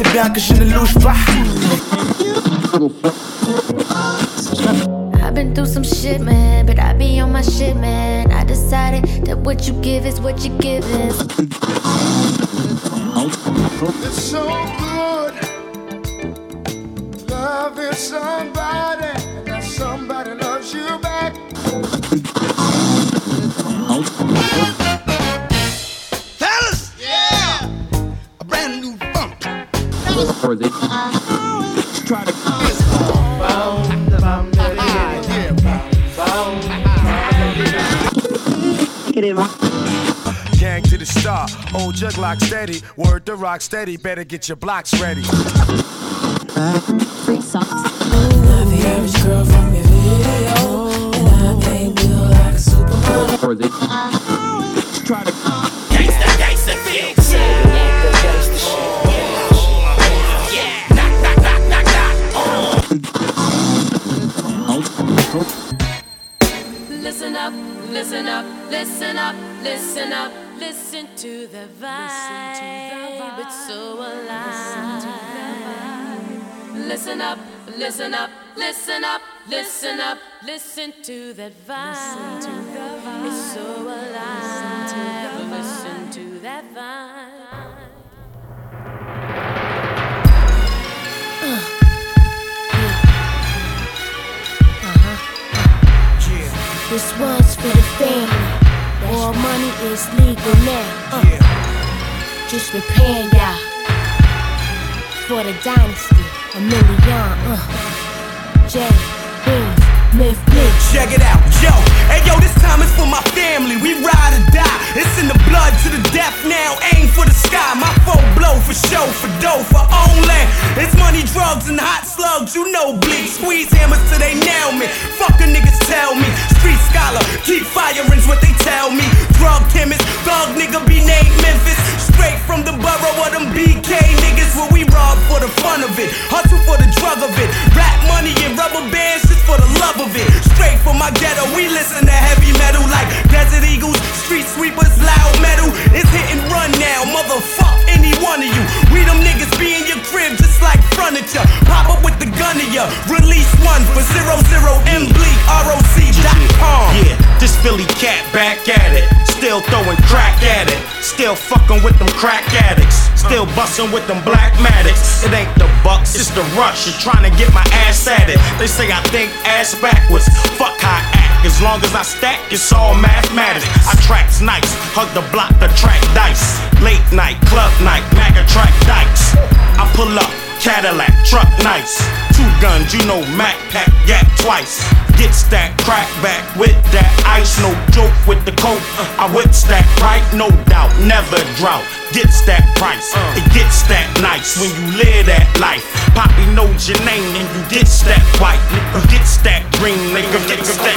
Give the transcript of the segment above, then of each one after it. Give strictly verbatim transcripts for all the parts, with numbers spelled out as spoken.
bien que je ne louche pas. I've been through some shit, man, but I be on my shit, man. I decided that what you give is what you give is. It's so good loving somebody, and that somebody loves you back. Fellas, yeah, a brand new funk. Try to gang to the star, old jug lock steady, word to rock steady, better get your blocks ready. Free socks. Not the average girl from your video, and I ain't built like a supermodel. Try to gangsta, gangsta fix. Gangsta shit. Yeah, knock, knock, knock, knock, knock. Listen up, listen up, listen up, listen up, listen to the vibe. It's so alive. Listen up, listen up, listen up, listen up, listen to that vibe. It's so alive. Listen to that vibe. This one's for the family. All money is legal now. Uh, just repaying y'all for the dynasty. A million. Uh, J, Beans, Myth, Bleak. Check it out, yo. Hey yo, this time is for my family. We ride or die. It's in the blood to the death now. Aim for the sky. My foe blow for show, for dough, for only. It's money, drugs, and hot slugs. You know, bleak. Squeeze hammers till they nail me. Fuck the niggas tell me. Street scholar, keep firing's what they tell me. Drug chemist, thug nigga be named Memphis. Straight from the borough of them B K niggas. Where we rob for the fun of it. Hustle for the drug of it. Rap money and rubber bands just for the love of it. Straight from my ghetto, we listen to heavy metal like Desert Eagles, Street Sweepers, loud metal. It's hit and run now, motherfuck any one of you. We them niggas be in your crib just like furniture. Pop up with the gun of ya. Release one for zero zero M Bleak R O C dot com. Yeah, this Philly cat back at it. Still throwing crack at it. Still fucking with them crack addicts. Still bustin' with them black Maddox. It ain't the bucks, it's the rush. You're trying to get my ass at it. They say I think ass backwards. Fuck how I act. As long as I stack, it's all mathematics. I tracks nice, hug the block, the track dice. Late night, club night, Maga track dikes. I pull up, Cadillac, truck nice. Two guns, you know Mac pack, yak twice. Get stacked, crack back with that ice. No joke with the coke. I whip stack right, no doubt, never drought. Gets that price, it gets that nice when you live that life. Poppy knows your name and you get that white. You get that green, nigga, nigga, that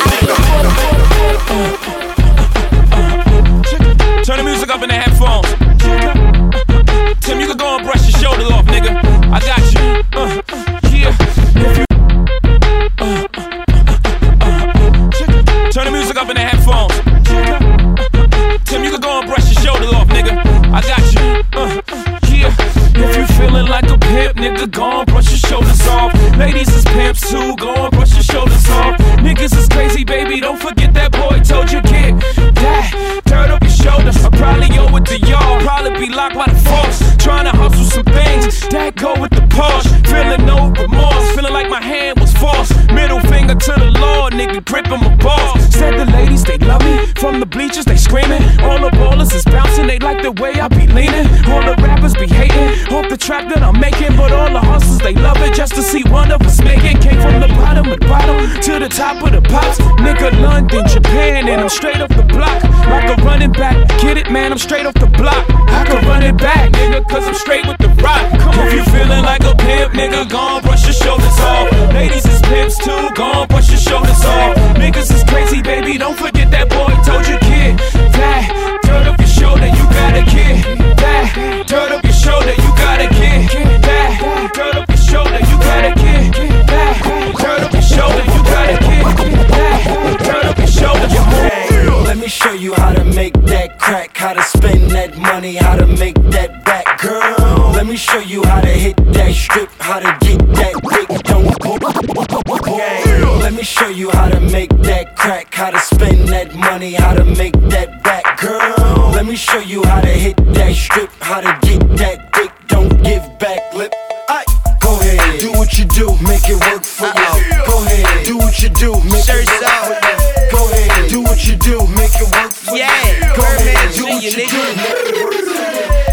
nigga. Turn the music up in the headphones. Tim, you can go and brush your shoulders off, nigga. I got you. Uh, yeah. If you uh, uh, uh, turn the music up in the headphones. Tim, you can go and brush your shoulders off, nigga. I got you. Uh, yeah. If you feeling like a pimp, nigga, go and brush your shoulders off. Ladies is pimps too, go and brush your shoulders off. Niggas is crazy, baby, don't forget that boy told you, kid. That dirt up your shoulders. I probably owe it to y'all. Probably be locked by the force. Trying to hustle some things that go with the Porsche. Feeling no remorse, feeling like my hand was forced. Middle finger to the Lord, nigga, gripping my balls. Said the ladies, they love me. From the bleachers, they screaming. All the ballers is bouncing, they like the way I be leaning. All the rappers be hating, hope the trap that I'm making. But all the hustlers, they love it just to see one of us make it. Came from the bottom of the bottom to the top of the pops. Nigga, London, Japan, and I'm straight off the block. Like a running back, get it, man, I'm straight off the block. I can run it back, nigga, cause I'm straight with the rock. Come on, if you feeling like a pimp, nigga, go on, brush your shoulders off. Ladies is pimps too, go on, brush your shoulders off. Niggas is crazy, baby, don't forget that boy told you, kid. That dirt up your shoulder, you got a kid. That dirt up your shoulder, you got a kid. That dirt up your shoulder, you got a kid. That dirt up your shoulder, you got a kid. That dirt up your shoulder. Let me show you how to make that crack, how to spend that money, how to make that back, girl. Let me me show you how to hit that strip, how to get that quick. Don't go. Let me show you how to make that crack, how to spend that money, how to make that back, girl. Let me show you how to hit that strip, how to get that dick. Don't give back lip. Aye. Go ahead, do what you do, make it work for you. Go ahead, do what you do, make it work for you. Go ahead, do what you do, make it work for you. Go ahead, do what you do, make it work for you.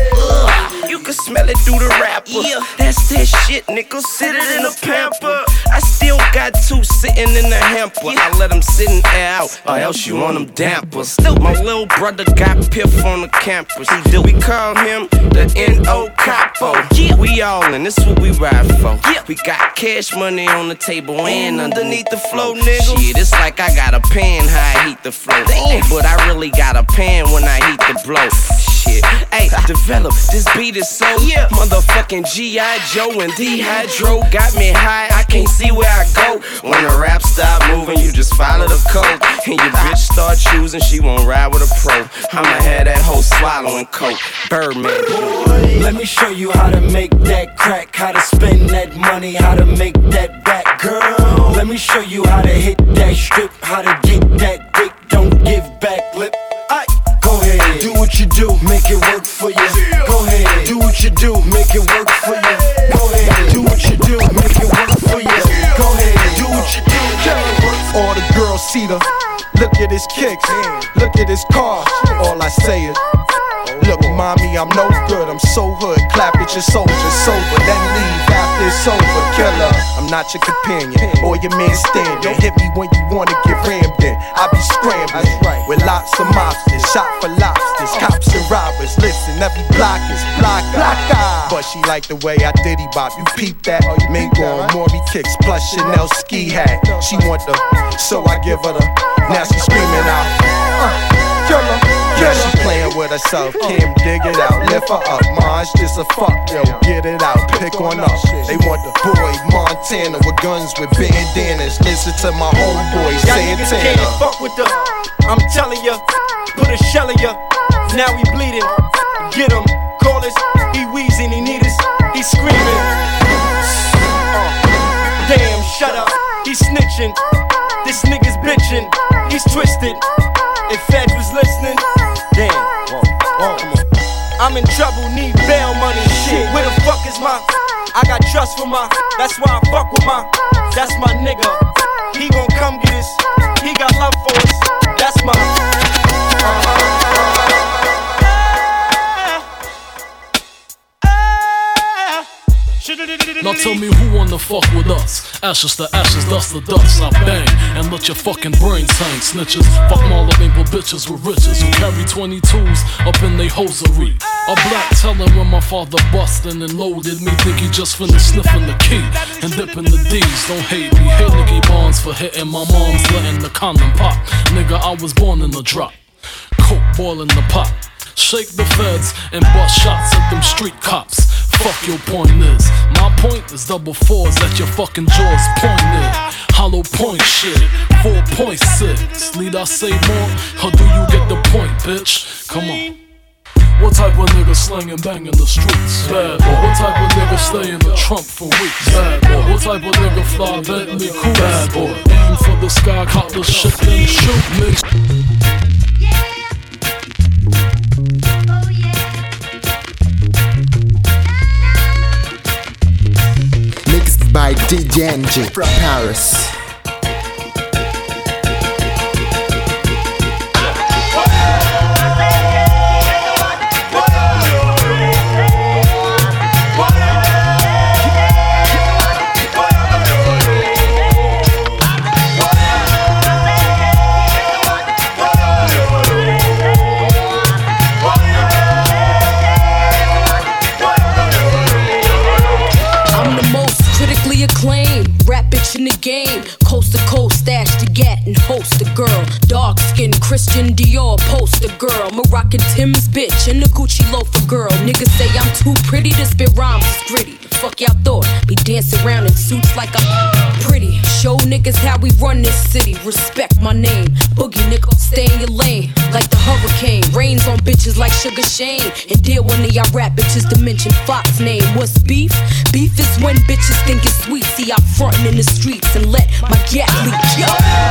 You can smell it through the wrapper. Yeah. That's that shit, nigga. Sit it in a pamper. I still got two sitting in the hamper. Yeah. I let them sit and air out, or else you want them damper. My little brother got piff on the campus. He do. We call him the N O Capo. Yeah. We all in, this what we ride for. Yeah. We got cash money on the table and underneath the flow, nigga. Shit, it's like I got a pan how I heat the flow. Damn. But I really got a pan when I heat the blow. Shit, hey, develop, this beat is so yeah. Motherfucking G I Joe and Dehydro got me high, I can't see where I go. When the rap stop moving, you just follow the code. And your bitch start choosing, she won't ride with a pro. I'ma have that hoe swallowing coke, Birdman. Let me show you how to make that crack, how to spend that money, how to make that back, girl. Let me show you how to hit that strip, how to get that dick, don't give back lip. Aye. Go ahead, do what you do, make it work for you. Go ahead, do what you do, make it work for you. Go ahead, do what you do, make it work for you. Go ahead, do what you do, make it work for you. All the girls see the, look at his kicks, look at his car. All I say is, look, mommy, I'm no good, I'm so hood. Clap at your soldier, sober, then leave after it's over. Killer, I'm not your companion or your man standing. Hit me when you wanna get rammed in. I be scrambling with lots of mobsters, shot for lobsters, cops and robbers. Listen, every block is block eye. But she like the way I diddy bop. You peep that? Mingo on Maury kicks plus Chanel ski hat. She want the, so I give her the. Now she screaming out, uh, killer. Yeah, she playing with herself, Kim, dig it out, lift her up, Maj, just a fuck, yo, get it out, pick on up. They want the boy, Montana, with guns with bandanas. Listen to my homeboy, Santana. Can't fuck with the, I'm telling ya, put a shell in ya. Now he bleeding, get him, call us, he wheezing, he need us, he screaming. Uh, damn, shut up, he snitching, this nigga's bitching, he's twisted. If Fed was listening, damn, whoa, whoa, come on. I'm in trouble, need bail money, shit. Where the fuck is my? I got trust for my. That's why I fuck with my. That's my nigga. He gon' come get us. He got love for us. That's my. Uh-huh. Now tell me who wanna fuck with us. Ashes to ashes, dust to dust. I bang and let your fucking brains hang. Snitches, fuck Marlboro bitches with riches who carry twenty-twos up in they hosiery. A black telling when my father bustin' and loaded me. Think he just finished sniffing the key and dipping the D's. Don't hate me, hate Nicky Barnes for hitting my mom's letting the condom pop. Nigga, I was born in the drop. Coke boiling the pot. Shake the feds and bust shots at them street cops. Fuck your point is, my point is double fours at your fucking jaws pointed. Hollow point shit, four point six. Need I say more, or do you get the point, bitch? Come on. What type of nigga slangin' bang in the streets? Bad boy. What type of nigga stay in the trunk for weeks? Bad boy. What type of nigga fly Bentley cool? Bad boy. Aim for the sky, caught the shit, then shoot, nigga. By D J N G from Paris. In the game, Christian Dior poster girl, Moroccan Tim's bitch, and the Gucci loafer girl. Niggas say I'm too pretty to spit rhymes, it's gritty. The fuck y'all thought? Be dancing around in suits like I'm pretty. Show niggas how we run this city. Respect my name. Boogie nigga, stay in your lane like the hurricane. Rains on bitches like Sugar Shane. And deal one of y'all rap bitches to mention Fox name. What's beef? Beef is when bitches think it's sweet. See, I'm frontin' in the streets and let my gas leak. Yo!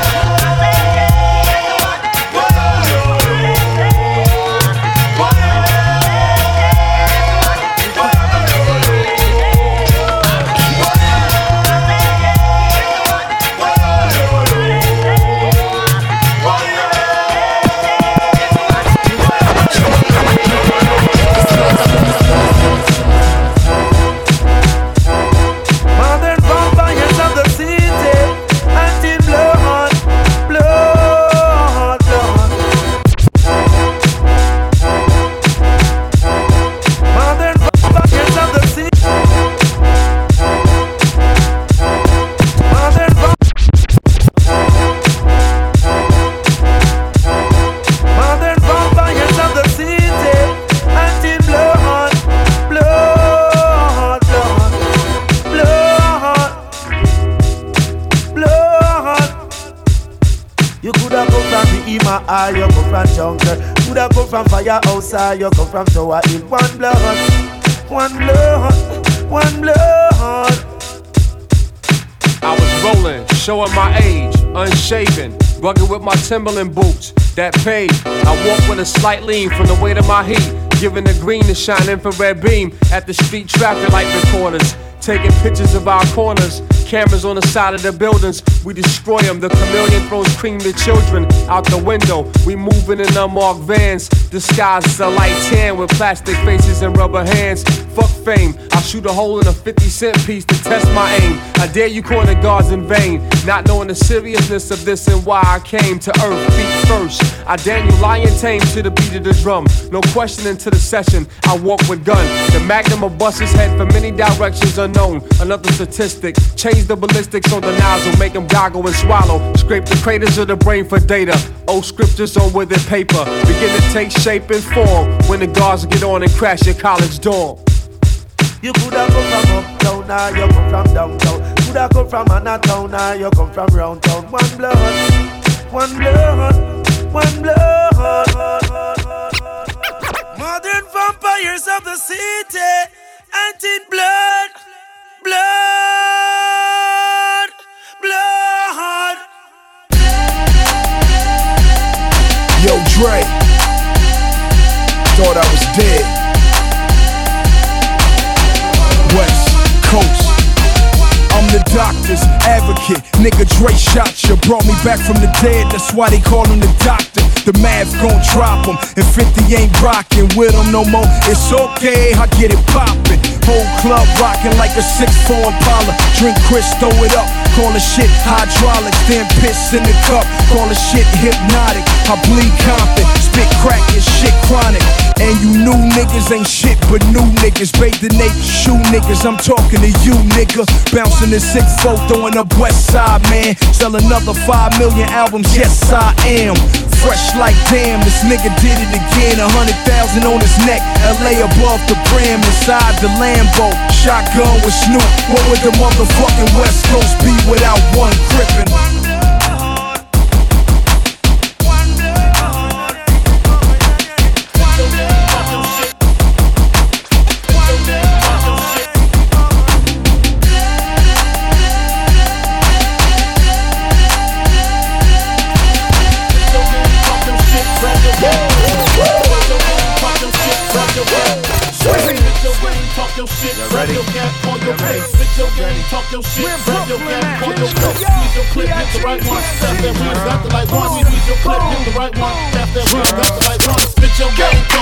Ah, you come from jungle. Coulda come from firehouse, ah, you come from Tower Hill. One blood, one blood, one blood. I was rolling, showing my age, unshaven, rugged with my Timberland boots that paid. I walk with a slight lean from the weight of my heat, giving the green to shine infrared beam at the street traffic light recorders, taking pictures of our corners. Cameras on the side of the buildings, we destroy them. The chameleon throws cream to children out the window. We moving in unmarked vans, disguised as a light tan with plastic faces and rubber hands. Fuck fame, I'll shoot a hole in a fifty cent piece to test my aim. I dare you corner guards in vain, not knowing the seriousness of this and why I came to earth feet first. I Daniel Lion tame to the beat of the drum. No questioning to the session, I walk with gun. The magnum will bust his head for many directions unknown. Another statistic, change the ballistics on the nozzle, make them goggle and swallow. Scrape the craters of the brain for data. Old scriptures on withered paper begin to take shape and form when the guards get on and crash your college dorm. You coulda come from uptown, now you come from downtown. Coulda come from Anatown, now you come from round town. One blood, one blood, one blood. Modern vampires of the city, anti blood, blood, blood. Yo, Dre, thought I was dead. West Coast, I'm the doctor's advocate. Nigga, Dre shot you, brought me back from the dead. That's why they call him the doctor. The math gon' drop him, and fifty ain't rockin' with him no more. It's okay, I get it poppin'. Whole club rockin' like a six four Impala. Drink Chris, throw it up, call the shit hydraulics. Then piss in the cup, call the shit hypnotic. I bleed Compton, spit crack and shit chronic. And you new niggas ain't shit but new niggas. Bathe the naked shoe niggas, I'm talking to you nigga. Bouncing the six four, throwing up West Side, man. Sell another five million albums, yes I am. Fresh like damn, this nigga did it again. A hundred thousand on his neck, L A above the brim. Inside the Lambo, shotgun with Snoop. What would the motherfucking West Coast be without one crippin'? Your shit, grab your gap on your face, spit your game, talk your shit, grab your gap on your face. Squeeze your clip, hit the right one, tap that wheel, got the right one. Squeeze your clip, hit the right one, tap that wheel, got the right one. Spit your game, talk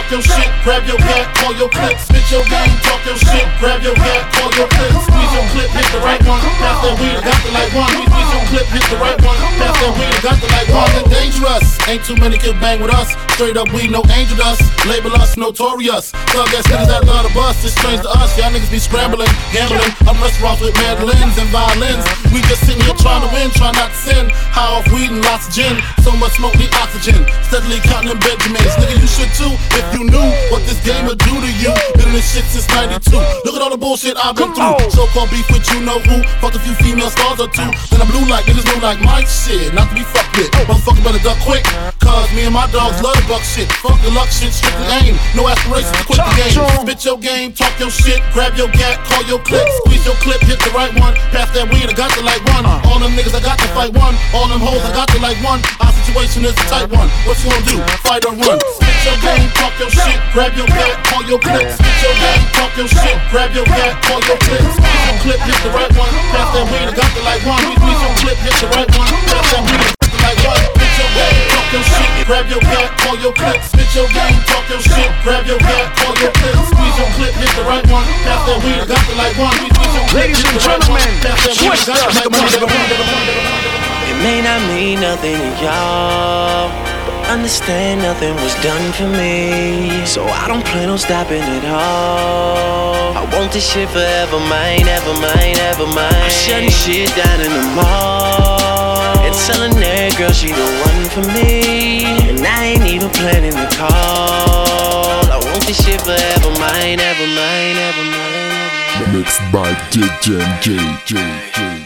talk your shit, grab your gat, call your clip, spit your game, talk your shit, grab your gat, call your clip, squeeze your clip, hit the right one, pass that weed, got the like one, squeeze your clip, hit the right one, pass that weed, got the like one. And dangerous, ain't too many can bang with us, straight up we no angel dust, label us notorious, thug ass niggas that love the bus, it's strange to us, y'all niggas be scrambling, gambling, up restaurants with mandolins and violins, we just sitting here trying to win, trying not to sin, high off weed and lots of gin, so much smoke need oxygen, steadily counting them Benjamins, nigga you should too, if you knew what this game would do to you, been in this shit since ninety-two, look at all the bullshit I've been through, so-called beef with you know who, fuck a few female stars or two, then I'm blue like niggas know like my shit, not to be fucked with, motherfucker better duck quick, cause me and my dogs love the buck shit, fuck the luck shit, strictly aim, no aspirations to quit the game, spit your game, talk your shit, grab your gat, call your clip, squeeze your clip, hit the right one, pass that weed, I got the like one, all them niggas I got to fight one, all them hoes I got to like one, our situation is a tight one, what you gonna do, fight or run, spit your game, talk your shit, grab your gat, call your clip, spit your game, talk your shit, grab your gat, call your clip, squeeze your clip, hit the right one, pass that weed, I got the like one, squeeze your clip, hit the right one, pass that weed, I got the like one, spit your game, talk your shit, grab your gat, call your clip, spit your game, talk your shit, grab your gat, call your clip, squeeze your clip, hit the right one, pass that weed, I got the like one, squeeze your clip, hit the right one, pass that weed, I got the like one. It may not mean nothing to y'all, but understand nothing was done for me, so I don't plan on stopping at all. I want this shit forever mine, ever mine, ever mine. I'm shutting shit down in the mall and telling that girl she the one for me, and I ain't even planning to call. I want this shit forever mine, ever mine, ever mine. Mixed by D J J J.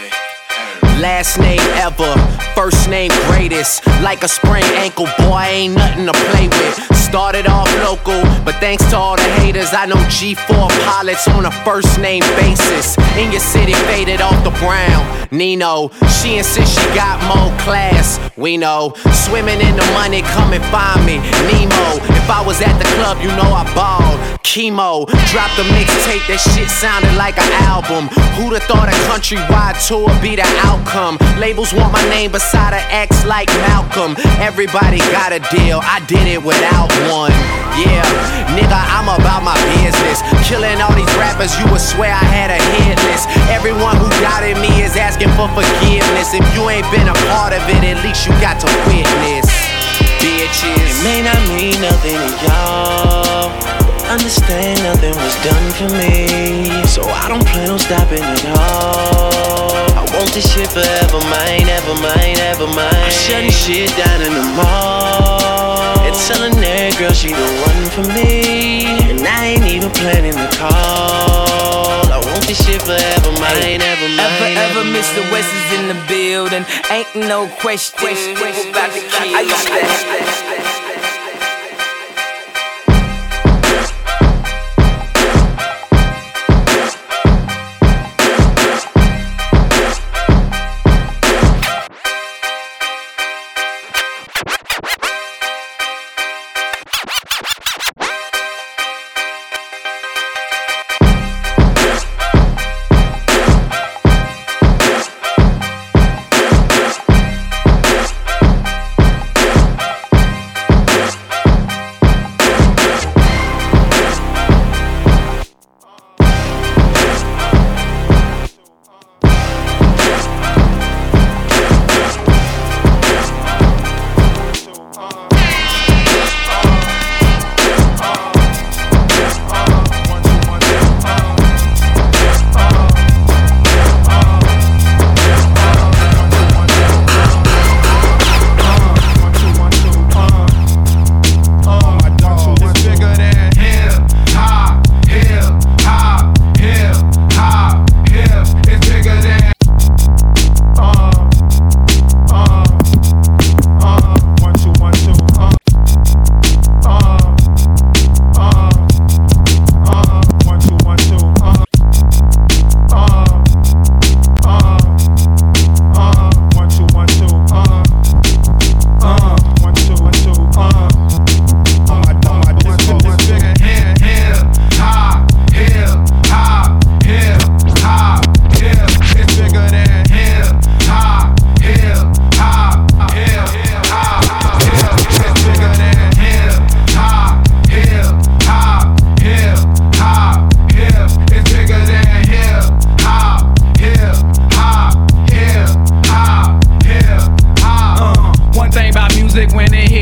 Last name ever, first name greatest. Like a sprained ankle, boy, ain't nothing to play with. Started off local, but thanks to all the haters, I know G four pilots on a first name basis. In your city, faded off the brown. Nino, she insists she got more class. We know, swimming in the money, come and find me. Nemo, if I was at the club, you know I balled. Chemo, dropped a mixtape, that shit sounded like an album. Who'da thought a countrywide tour be the outcome? Labels want my name beside an X like Malcolm. Everybody got a deal, I did it without one. Yeah, nigga, I'm about my business. Killing all these rappers, you would swear I had a hit list. Everyone who doubted me is asking for forgiveness. If you ain't been a part of it, at least you got to witness. Bitches, it may not mean nothing to y'all, understand nothing was done for me, so I don't plan on stopping at all. I want this shit forever mine, ever mine, ever mine. I'm shutting shit down in the mall and telling that girl she the one for me, and I ain't even planning to call. I want this shit forever mine, ever mine. Ever, ever, Mister West is in the building. Ain't no question. People about to kill. I used to.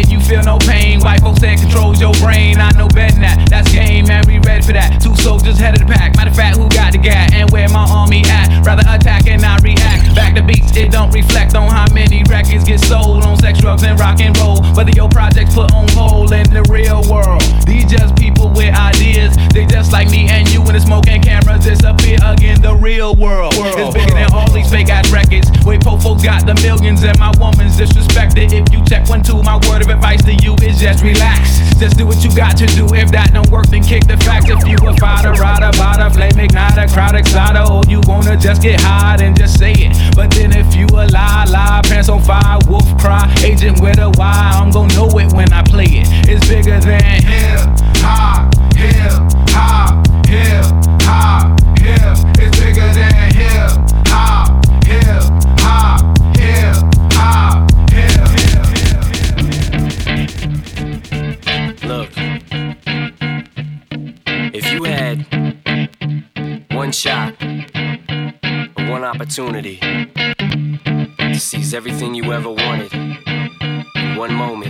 and you feel no pain. White folks that controls your brain. I know better than that. That's game, man. We ready for that. Two soldiers head of the pack. Matter of fact, who got the gat and where my army at? Rather attack and not react. Back to beats, it don't reflect on how many records get sold on sex, drugs, and rock and roll. Whether your projects put on hold in the real world. These just people with ideas. They just like me and you when the smoke and cameras disappear again. The real world is bigger than all these fake ass records. Wait, po folks got the millions and my woman's disrespected. If you check one, two, my word of advice to you is just relax. Just do what you got to do. If that don't work, then kick the facts. If you a fighter, rider, bada, flame igniter, crowd exciter, or you wanna just get high and just say it. But then if you a lie, lie, pants on fire, wolf cry, agent with a Y, I'm gon' know it when I play it. It's bigger than hip hop, hip hop, hip hop, hip. It's bigger than hip hop, hip hop, hip hop, hip, hip, hip. Look, if you had one shot, or one opportunity to seize everything you ever wanted in one moment,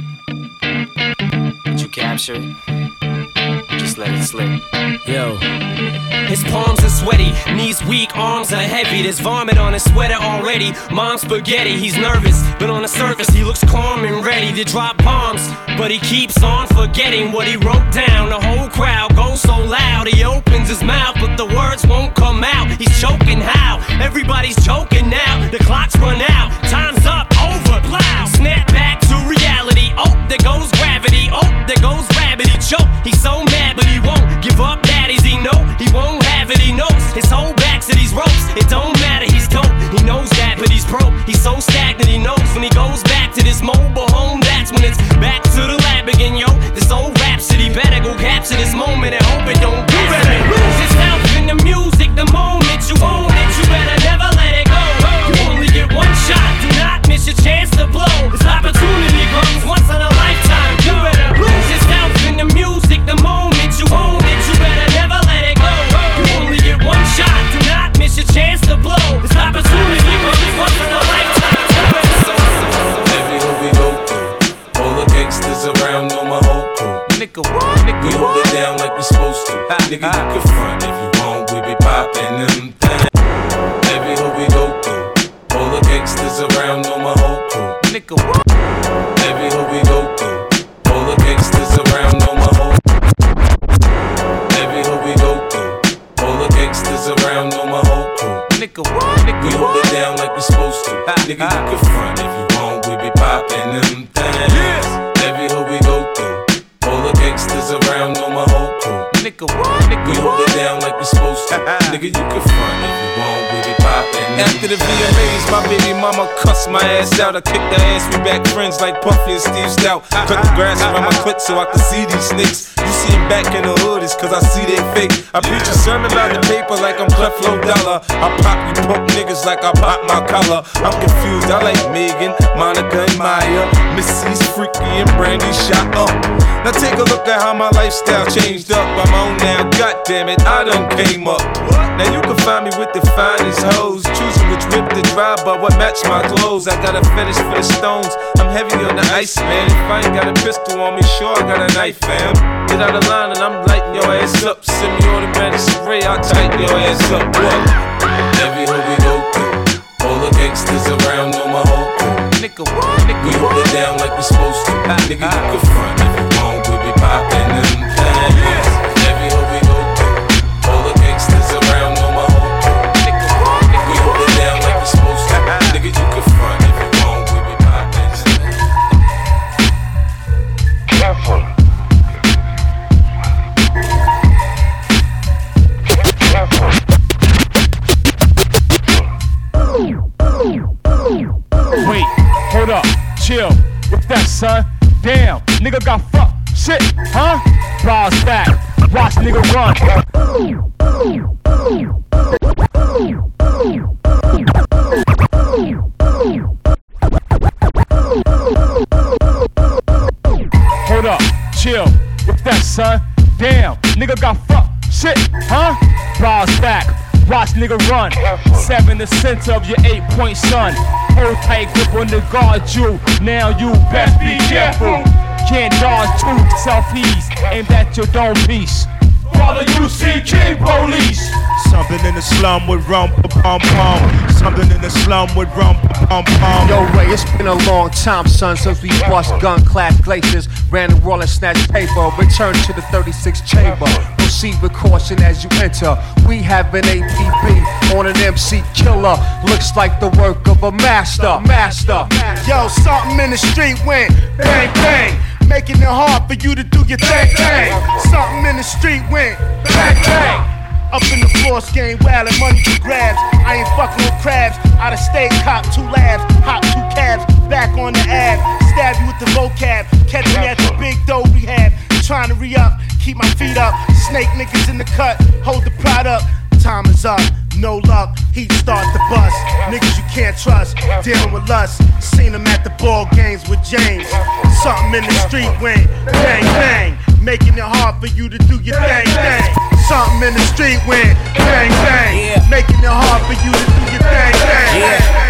would you capture it? Just let it slip. Yo. His palms are sweaty, knees weak, arms are heavy. There's vomit on his sweater already. Mom's spaghetti, he's nervous, but on the surface he looks calm and ready to drop bombs. But he keeps on forgetting what he wrote down. The whole crowd goes so loud, he opens his mouth, but the words won't come out. He's choking how? Everybody's choking now. The clock's run out, time's up, over, plow. Snap back to reality. Oh, there goes gravity. Oh, there goes rabbit. He choke, he's so mad, but he won't give up. Daddies, he know he won't have it. He knows his whole back to these ropes. It don't matter, he's dope. He knows that, but he's broke. He's so stagnant. He knows when he goes back to this mobile home, that's when it's back to the lab again, yo. This old rhapsody better go capture this moment and hope it don't do it. Lose yourself in the music the moment you own it. You better never let it go. You only get one shot. Do not miss your chance to blow. This opportunity comes once in a lifetime. You better lose yourself in the music the moment you own it. You better never let it go. You only get one shot. Do not miss your chance to blow. This opportunity comes once in a lifetime. Every hood we go through, all the gangsters around know my whole crew. Nigga, what? Nigga, we hold it down like we supposed to. Nigga, you can front if you want, we be poppin' them things. Every hood we go through, all the gangsters around know my whole crew. Nigga, what? Every hood we go through, all the gangsters around know my whole. Every hood we go through, all the gangsters around know my whole crew. Nigga, what? Nigga, we hold it down like we supposed to. Nigga, you can front if you want, we be poppin' them things. Every hood we go through, all the gangsters around know my whole crew. Nigga, what? Nigga, we hold it down like we supposed to. Nigga, you can front if you want, we be poppin'. After the V M As, my baby mama cussed my ass out. I kicked her ass, we back friends like Puffy and Steve Stout. Cut the grass around my clit so I can see these snakes. You see him back in the hood, it's cause I see they fake. I preach a sermon about the paper like I'm Creflo Dollar. I pop you punk niggas like I pop my collar. I'm confused, I like Megan, Monica, and Maya. Missy's freaky and Brandy shot up. Now take a look at how my lifestyle changed up. I'm on now, goddammit, I done came up. Now you can find me with the finest hoes, choosing which whip to drive, but what match my clothes. I got a fetish for the stones, I'm heavy on the ice, man. If I ain't got a pistol on me, sure I got a knife, fam. Get out of line and I'm lighting your ass up. Semi-automatic spray, I'll tighten your ass up. What? Every hood we go through, all the gangsters around know my whole crew. Nigga, what? Nigga, we hold it down like we supposed to. Nigga, you can front if you want, we be poppin' them things. Every hood we go through, all the gangsters around know my whole crew. Nigga, what? Nigga, we hold it down like we supposed to. Nigga, you can front if you want, we be poppin' them. Careful. Wait, hold up, chill. What's that, son? Damn, nigga got fucked. Shit, huh? Bras back, watch nigga run. Hold up, chill. What's that, son? Damn, nigga got fucked. Shit, huh? Bras back. Watch nigga run. Seven the center of your eight point son. Hold tight grip on the guard you. Now you best be careful. Can't dodge two selfies aimed at your dome piece. Father, you see King Police. Something in the slum with rum pum pum. Something in the slum with rum pum pum. Yo, Ray, it's been a long time, son, since we bust gun-clad glaciers, ran the wall and snatched paper. Return to the thirty-six chamber. Proceed with caution as you enter. We have an A P B on an M C killer. Looks like the work of a master. Master. Yo, something in the street went bang bang, making it hard for you to do your thing thing. Something in the street went bang bang. Up in the floors, game wild and money for grabs. I ain't fucking with crabs. Out of state, cop two labs, hop two cabs, back on the ab. Stab you with the vocab, catch me at the big dough rehab. Trying to re-up, keep my feet up. Snake niggas in the cut, hold the pride up. Time is up, no luck, heat start the bus. Niggas you can't trust, dealing with lust. Seen them at the ball games with James. Something in the street went bang bang, making it hard for you to do your thing thing. Something in the street went bang bang, yeah. Making it hard for you to do your thing thing. Yeah.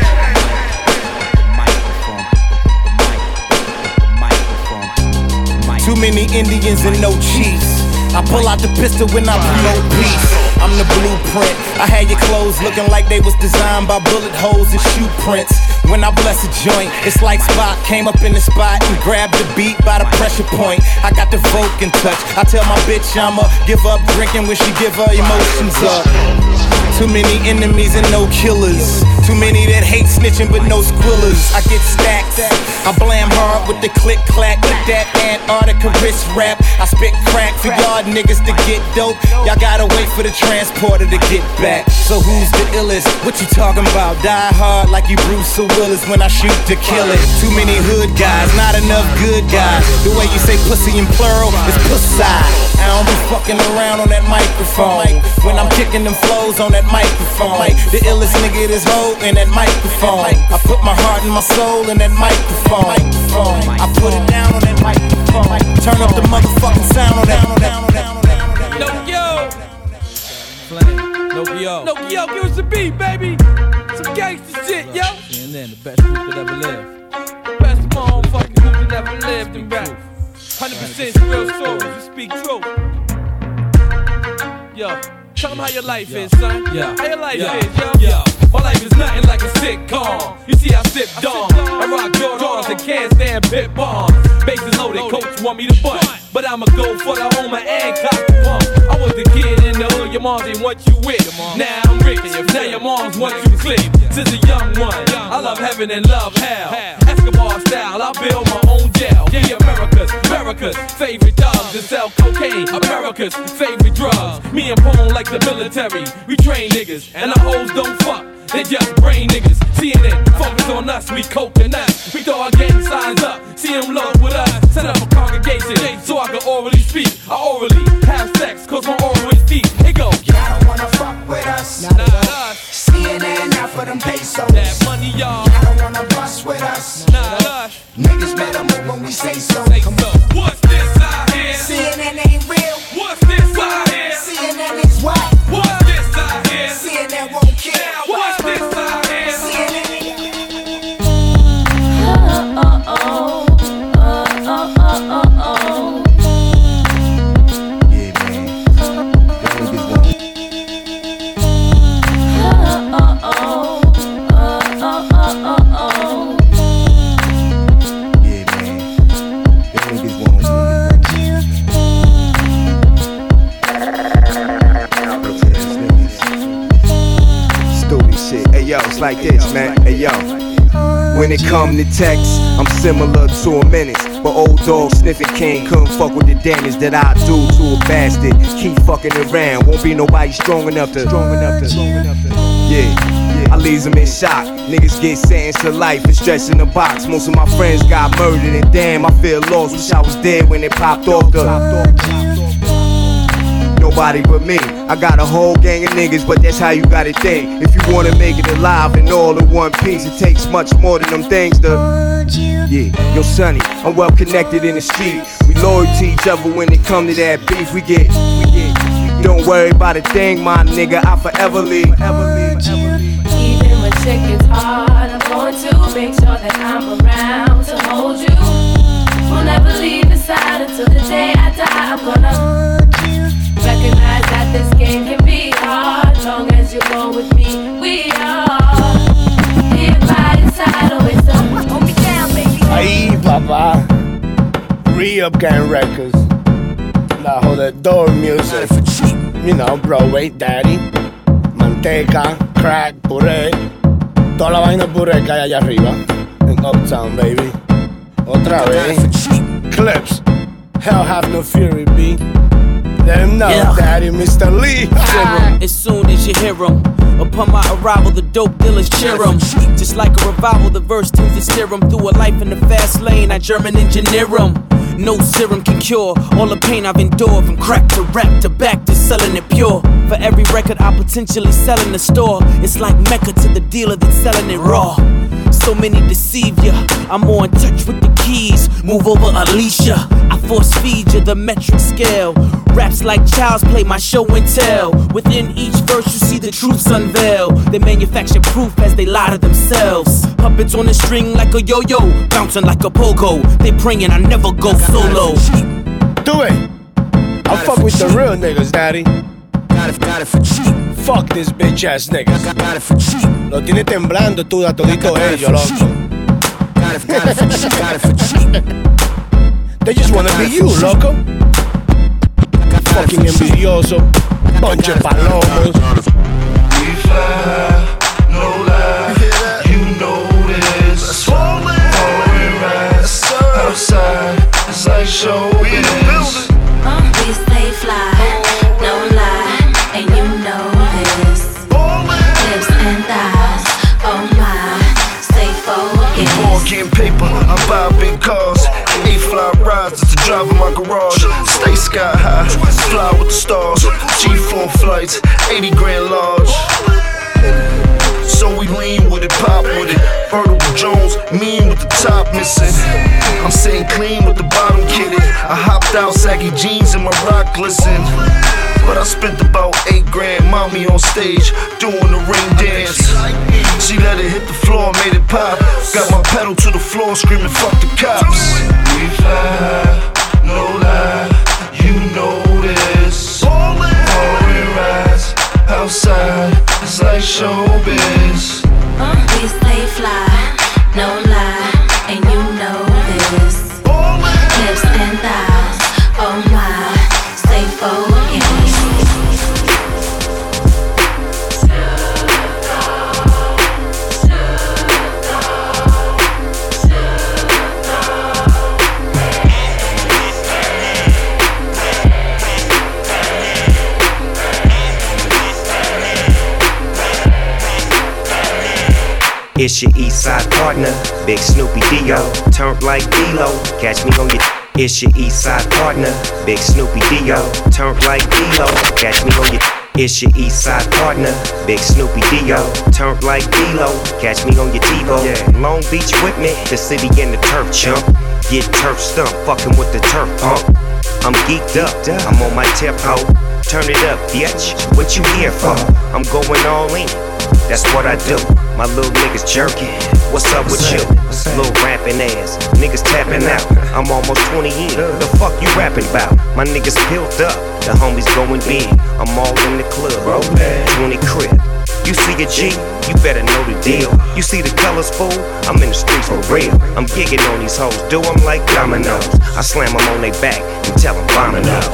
Too many Indians and no chiefs. I pull out the pistol when I promote peace. I'm the blueprint. I had your clothes looking like they was designed by bullet holes and shoe prints. When I bless a joint, it's like Spock came up in the spot and grabbed the beat by the pressure point. I got the Vulcan touch. I tell my bitch I'ma give up drinking when she give her emotions up. Too many enemies and no killers. Too many that hate snitching but no squillers. I get stacked. I blam hard with the click clack. With that Antarctica wrist rap. I spit crack for y'all niggas to get dope. Y'all gotta wait for the transporter to get back. So who's the illest? What you talking about? Die hard like you Bruce Willis when I shoot to kill it. Too many hood guys, not enough good guys. The way you say pussy in plural is pussy. I don't be fucking around on that microphone. When I'm kicking them flows on that microphone. The illest nigga is hoe in that microphone. I put my heart and my soul in that microphone. I put it down on that microphone. Turn up the motherfucking sound on that. No yo, no yo, no yo, give us a beat, baby. Some gangsta shit, yo. And then the best group that ever lived. Best motherfucking group that ever lived in rap. Hundred percent real souls who speak truth. Yo, tell them how your life is, son. Yeah. How your life yeah. is, yo. Yeah. My life is nothing like a sitcom. You see, I sip Dom. I rock Jordans and can't stand bit bombs. Bases loaded, coach want me to butt. But I'ma go for the homer and cock the pump. I was the kid in the hood, your mom didn't want you with. Now I'm rich, now your moms want you clip. Since a young one, I love heaven and love hell. Escobar style, I build my own jail. Be America's, America's favorite dogs that sell cocaine. America's favorite drugs. Me and Pone like the military. We train niggas, and the hoes don't fuck. They just brain niggas. C N N focus on us, we coconuts. We throw our gang signs up, see them love with us. Set up a congregation so I can orally speak. I orally have sex, cause my oral is deep. It go. Y'all don't wanna fuck with us. Not us. C N N out for them pesos. That money, y'all. Y'all don't wanna bust with us. Not us. Niggas better move when we say so. Say so. What's this out here? C N N ain't real. What's this out here? C N N is what? What's this out here? C N N won't kill. What's this out here? C N N. Oh, oh, oh, oh, oh, oh, oh. Yeah, man. Y'all niggas won't. Oh, oh, oh, oh, oh, oh. Yeah, man. Y'all niggas won't. Stupid shit. Hey yo, it's like this, man. Hey yo. When it come to text, I'm similar to a menace. But old dog sniffing king couldn't fuck with the damage that I do to a bastard. Keep fucking around, won't be nobody strong enough to. Strong enough to. Strong enough to. Yeah, I leaves them in shock. Niggas get sentenced to life and stretched in a box. Most of my friends got murdered and damn, I feel lost. Wish I was dead when it popped off the. Nobody but me. I got a whole gang of niggas, but that's how you gotta think. If you wanna make it alive and all in one piece, it takes much more than them things to. Yeah, yo, Sonny, I'm well connected in the street. We loyal to each other when it come to that beef. We get, we get. Don't worry about a thing, my nigga. I forever leave. Even when chick is hard, I'm going to make sure that I'm around to hold you. will never leave his side until the day I die. I'm gonna recognize that this game can be hard. Long as you go with me, we are here by your side, always so. Hold me down, baby. Ahí, papá. Re-Up Gang Records. La jodedor music. You know, Broadway, Daddy. Manteca, crack, puré. Toda la vaina puré que hay allá arriba. En Uptown, baby. Otra vez. Clips. Hell have no fury, B. Let him know, yeah. Daddy, Mister Lee. As soon as you hear him, upon my arrival, the dope dealers cheer him. Just like a revival, the verse tends to steer him through a life in the fast lane. I German engineer him. No serum can cure all the pain I've endured. From crack to rap to back to selling it pure. For every record I potentially sell in the store, it's like Mecca to the dealer that's selling it raw. So many deceive ya, I'm more in touch with the keys. Move over Alicia, I force feed you the metric scale. Raps like child's play, my show and tell. Within each verse you see the truths unveil. They manufacture proof as they lie to themselves. Puppets on the string like a yo-yo, bouncing like a pogo. They praying I never go solo. Do it. I fuck with the real niggas, Daddy. Got it, got it for cheap. Fuck this bitch ass niggas. Got it for cheap. Lo tiene temblando tú a todito ellos, loco. Got it, got it for cheap. Got it for cheap. They just wanna be you, loco. Fucking envidioso. Bunch of palomos. We fly, no lie. You know this. Foreign rides outside. It's like showbiz. We stay fly, no lie, and you know this. Lips and thighs, oh my, stay focused. More getting paper, I buy big cars. Eight fly rides to drive in my garage. Stay sky high, fly with the stars. G four flights, eighty grand large. So we lean with it, pop with it. Vertical Jones, mean with the top missing. I'm sitting clean with the bottom kitted. I hopped out, saggy jeans and my rock glisten. But I spent about eight grand, mommy on stage, doing the ring dance. She let it hit the floor, made it pop. Got my pedal to the floor, screaming fuck the cops. We fly, no lie, you know this. Foreign rides outside, it's like showbiz. We stay fly, no lie, and you know this. Lips and thighs, oh my, stay focused. It's your east side partner, Big Snoopy Dio. Turned like D-Lo, catch me on your. It's your east side partner, Big Snoopy Dio. Turned like D-Lo, catch me on your. It's your east side partner, Big Snoopy Dio. Turned like D-Lo, catch me on your TiVo. Yeah. Long Beach with me, the city and the turf chump. Get turf stump, fucking with the turf pump. I'm geeked up, I'm on my tip ho. Turn it up, bitch, what you here for? I'm going all in. That's what I do. My little niggas jerking. What's up with you? Little rapping ass. Niggas tapping out. I'm almost twenty in. The fuck you rapping about? My niggas built up. The homies going big. I'm all in the club. twenty crib. You see a G? You better know the deal. You see the colors, fool? I'm in the streets for real. I'm gigging on these hoes. Do them like dominoes. I slam them on their back and tell them bombing up.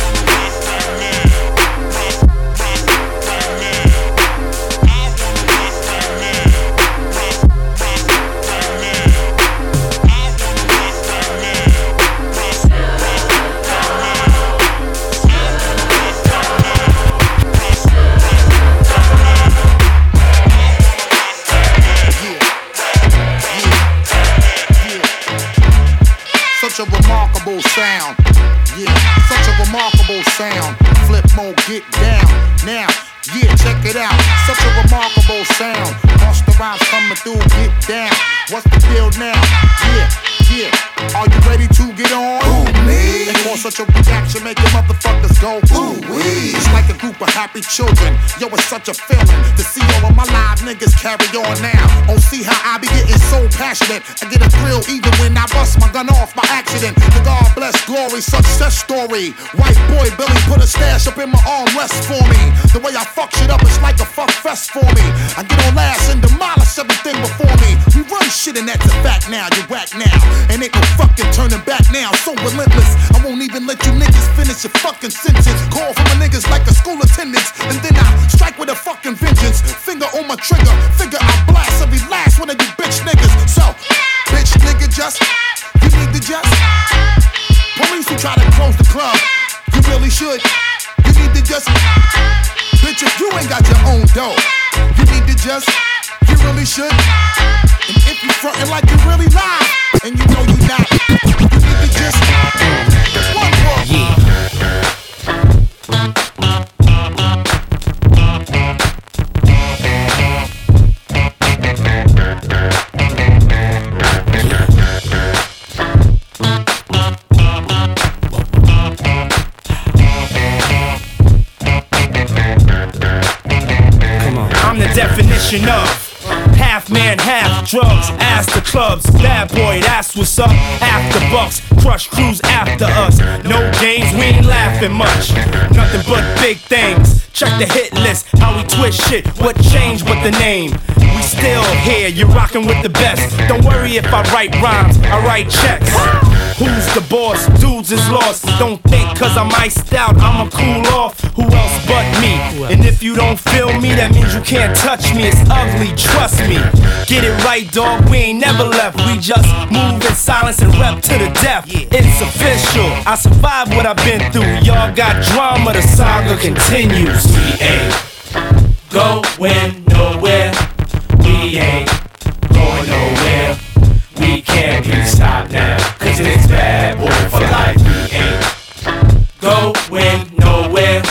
Such a remarkable sound, yeah, such a remarkable sound. Flip mode, get down, now, yeah, check it out. Such a remarkable sound. Monster rhymes coming through, get down. What's the deal now? Yeah, yeah. Are you ready to get on? Ooh, me. And for such a reaction, make your motherfuckers go ooh wee. It's like a group of happy children. Yo, it's such a feeling to see all of my live niggas carry on now. Oh, see how I be getting so passionate. I get a thrill even when I bust my gun off by accident. The God bless glory, success story. White boy Billy put a stash up in my armrest for me. The way I fuck shit up, it's like a fuck fest for me. I get on last and demolish everything before me. We run shit and that's a fact now, you whack now. And ain't no fucking turning back now, so relentless. I won't even let you niggas finish your fucking sentence. Call for my niggas like a school attendance. And then I strike with a fucking vengeance. Finger on my trigger, figure I blast every last one of you bitch niggas. So, bitch nigga just, you need to just. Police who try to close the club, you really should. You need to just, bitch if you ain't got your own dough, you need to just, you really should. And if you frontin' like you really lie, and you know you not, you need to just, one more. Yeah. I'm the definition of half man, half drugs, ass the clubs, bad boy, that's what's up. After bucks, crush crews after us. No games, we ain't laughing much. Nothing but big things. Check the hit list, how we twist shit. What changed but the name? We still here, you're rocking with the best. Don't worry if I write rhymes, I write checks. Who's the boss? Dudes is lost. Don't think cause I'm iced out, I'ma cool off. Who else but me? And if you don't feel me, that means you can't touch me. It's ugly, trust me. Get it right, dog, we ain't never left. We just move in silence and rep to the death. It's official, I survived what I've been through. Y'all got drama, the saga continues. We ain't going nowhere. We ain't going nowhere. We can't be stopped now, cause it's bad boy for life. We ain't going nowhere.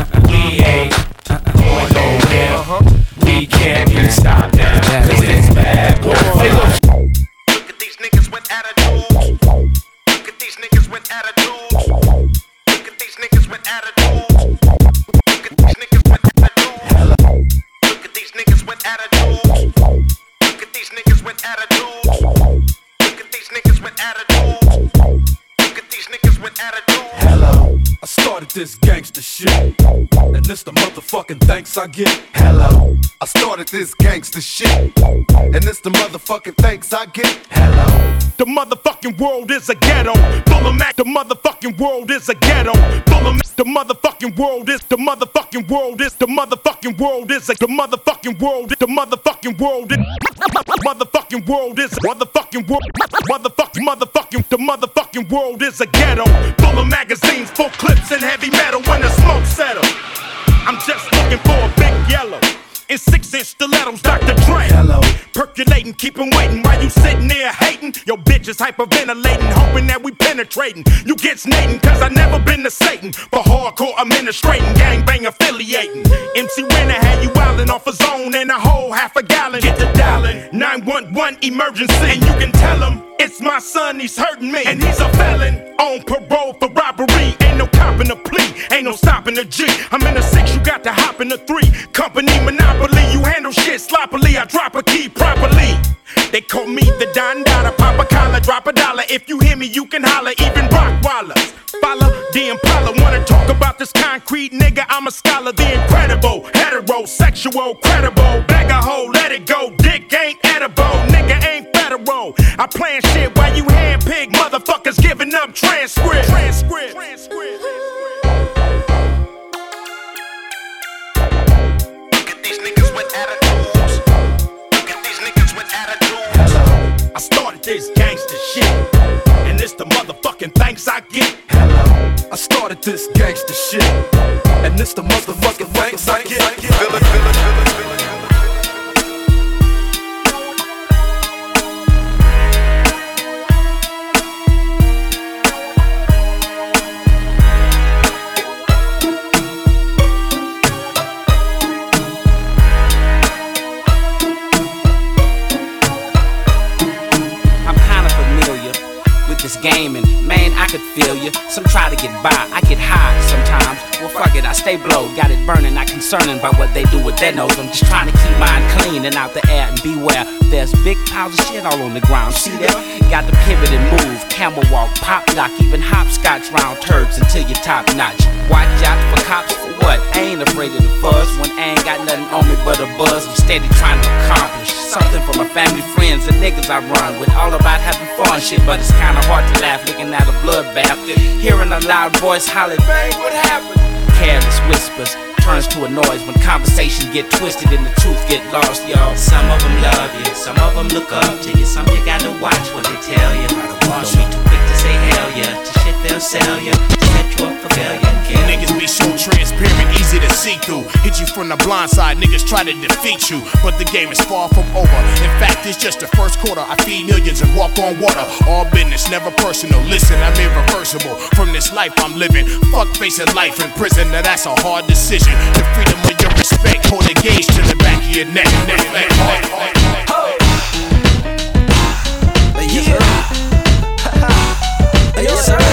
We ain't going nowhere. We can't be stopped now, cause it's bad boy for life. Look at these niggas with attitudes. Look at these niggas with attitudes. Look at these niggas with attitudes. Look at these niggas with attitudes. Look at these niggas with attitudes. Look at these niggas with attitudes. Look at these niggas with attitudes. Look at these niggas with attitudes. Hello. I started this gangster shit, and this the motherfucking thanks I get. Hello. I started this gangster shit, and this the motherfucking thanks I get. Hello. The motherfucking world is a ghetto. Full of Mac. The motherfucking world is a ghetto. Full of Mac. The motherfucking world is the motherfucking world is the motherfucking world is a the motherfucking world. The motherfucking world is motherfucking world is motherfucking world. Motherfucking motherfucking the motherfucking world is a ghetto. Full of magazines, full clips and heavy metal. When the smoke settle, I'm just looking for a big yellow. In six-inch stilettos, Doctor Dre. Hello. Percolating, keep 'em waiting while you sitting there hating. Your bitch is hyperventilating, hoping that we penetrating. You get snating, cause I never been to Satan. For hardcore administrating, gangbang affiliating. M C Renner had you wildin' off a zone and a whole half a gallon. Get the dialing, nine one one emergency. And you can tell him, it's my son, he's hurting me. And he's a felon, on parole for robbery. Ain't no copping a plea, ain't no stopping the G. I'm in a six, you got to hop in a three. Company monopoly, you handle shit sloppily. I drop a key properly. They call me the Don Dada, pop a collar, drop a dollar. If you hear me, you can holler, even Rockwallers. Follow the Impala, wanna talk about this concrete nigga? I'm a scholar, the incredible, heterosexual, credible. Bag a hoe, let it go, dick ain't edible, nigga ain't federal. I plan shit while you handpick motherfuckers giving up transcript. Transcript. Transcript. Look at these niggas with attitudes. Look at these niggas with attitudes. Hello. I started this gangster shit, and it's the motherfucking thanks I get. Hello. I started this gangster shit, and it's the motherfucking thanks I get. Feel it, feel it, feel it, feel it. This game, and man, I could feel ya. Some try to get by, I get high sometimes. Well, fuck it, I stay blowed. Got it burning, not concerning by what they do with their nose. I'm just trying to keep mine clean and out the air and beware. There's big piles of shit all on the ground. See there? Got to pivot and move, camel walk, pop lock, even hopscotch round turds until you're top notch. Watch out for cops for what? I ain't afraid of the fuzz when I ain't got nothing on me but a buzz. I'm steady trying to accomplish something for my family, friends, and niggas I run with. All about having fun shit, but it's kinda hard to laugh looking at a bloodbath. Hearing a loud voice holler, bang, what happened? Careless whispers turns to a noise when conversation get twisted and the truth get lost, y'all. Some of them love you, some of them look up to you. Some you gotta watch what they tell you. Don't be too quick to say hell yeah, to shit they'll sell you, to set you up for failure. Niggas be so transparent, easy to see through. Hit you from the blind side, niggas try to defeat you, but the game is far from over. In fact, it's just the first quarter. I feed millions and walk on water. All business, never personal. Listen, I'm irreversible from this life I'm living. Fuck facing life in prison, now that's a hard decision. The freedom of your respect, hold a gauge to the back of your neck. neck, neck, neck, neck, neck. Yeah. Yes, sir.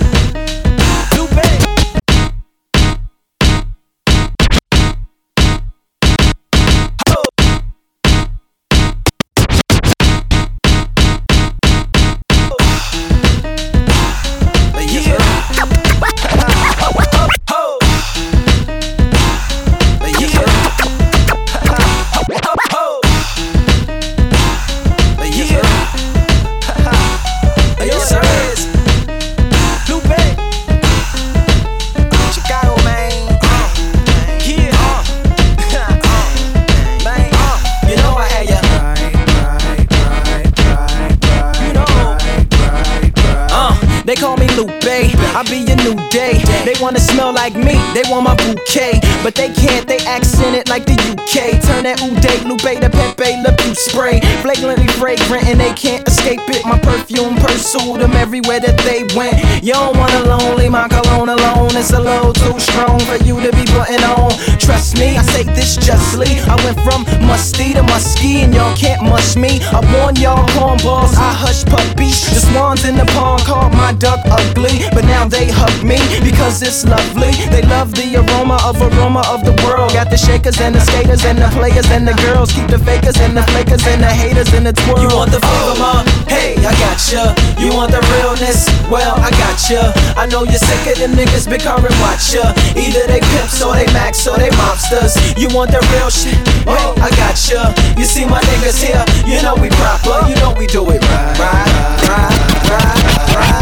They call me Lupe, I be a new day. They wanna smell like me, they want my bouquet, but they can't, they accent it like the U K. Turn that Uday, Lupe to Pepe Le Pew spray. Flagrantly fragrant and they can't escape it. My perfume pursued them everywhere that they went. You don't want a lonely, my cologne alone. It's a little too strong for you to be putting on. Trust me, I say this justly. I went from musty to musky and y'all can't mush me. I warn y'all cornballs, I hush puppies. The swans in the pond called my duck ugly, but now they hug me because it's lovely. They love the aroma of aroma of the world. Got the shakers and the skaters and the players and the girls. Keep the fakers and the flakers and the haters in the twirl. You want the flavor, ma? Hey, I gotcha. You want the realness? Well, I gotcha. I know you're sick of them niggas big car and watch ya. Either they pimps or they max or they mobsters. You want the real shit? Hey, I gotcha. You see my niggas here? You know we proper. You know we do it right, right, right, right, right.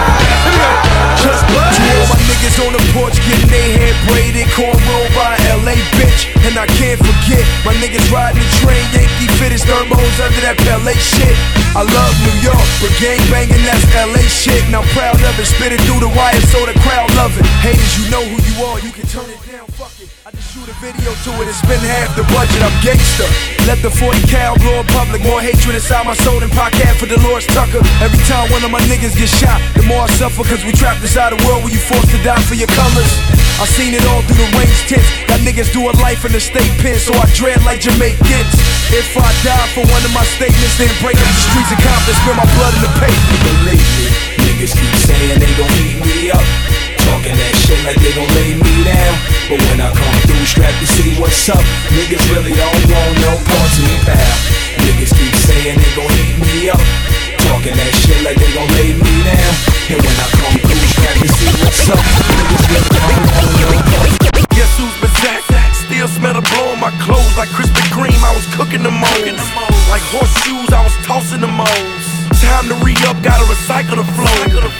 Just to all my niggas on the porch getting their hair braided, cornrow by L A bitch. And I can't forget my niggas riding the train, Yankee fittest thermos under that Pele shit. I love New York, but gang banging that's L A shit. And I'm proud of it, spit it through the wire so the crowd love it. Haters, you know who you are, you can turn it down, fuck it. I just shoot a video to it and spend half the budget, I'm gangster. Let the forty cal blow in public, more hatred inside my soul than podcast for Dolores Tucker. Every time one of my niggas get shot, the more I suffer, cause we trapped inside a world where you forced to die for your colors. I seen it all through the range tents. Got niggas doing life in the state pen, so I dread like Jamaicans. If I die for one of my statements, then break up the streets of Compton, spill my blood in the pavement. Believe me, niggas keep saying they gon' heat me up, talking that shit like they gon' lay me down. But when I come through, strapped to see what's up, niggas really don't want no parts of me, pal. Niggas keep saying they gon' heat me up, talking that shit like they gon' lay me down. And when I come through, strapped to see what's up, niggas really don't want no parts. Guess who's berserk? Still smell the blow on my clothes like Krispy Kreme. I was cooking the moles. Like horseshoes, I was tossing the moles. Time to re-up, gotta recycle the flow.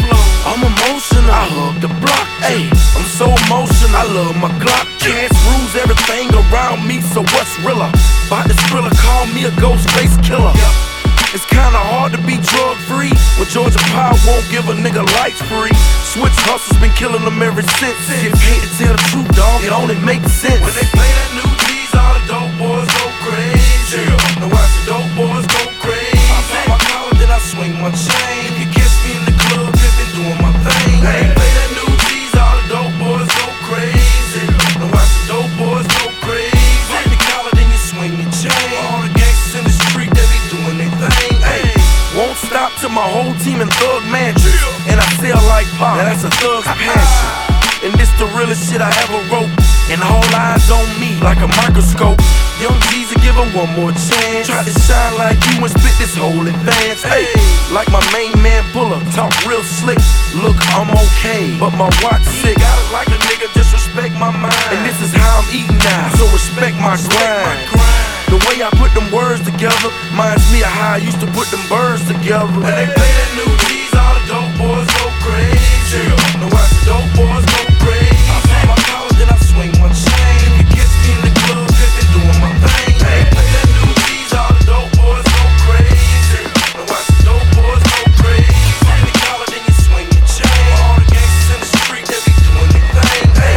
I'm emotional, I hug the block. Ayy, I'm so emotional, I love my Glock. Chance rules everything around me, so what's realer? By the thriller, call me a ghost face killer. It's kinda hard to be drug free when Georgia Power won't give a nigga life free. Switch hustles been killing them ever since. Get paid to tell the truth, dog, it only makes sense. When they play that new G's, all the dope boys go crazy. Now watch the dope boys go crazy. I pop my collar, then I swing my chain. You catch me in the club, pimpin', doing my thing. When they play that new G's, all the dope boys go crazy. Now watch the dope boys go crazy. Pop the collar, then you swing your chain. All the gangsters in the street, they be doing their thing. Ay, won't stop till my whole team in Thug Mansion. And I sell like pop. Now that's a thug's passion. And this the realest shit I ever wrote. And all eyes on me like a microscope. Young Jeezy, give him one more chance. Try to shine like you and spit this whole advance. Hey, like my main man Buller, talk real slick. Look, I'm okay, but my watch sick. I like a nigga, just respect my mind. And this is how I'm eating now, so respect my grind. The way I put them words together reminds me of how I used to put them birds together. When they play that new G's, all the dope boys go crazy. Now watch the dope boys go crazy. I saw my collar, then I swing one chain. You can catch me in the club, pimpin', doing my thing. Hey, play that new G's, all the dope boys go crazy. Now watch the dope boys go crazy. Swing the collar, then you swing the chain. All the gangsters in the street, they be doing their thing. Hey.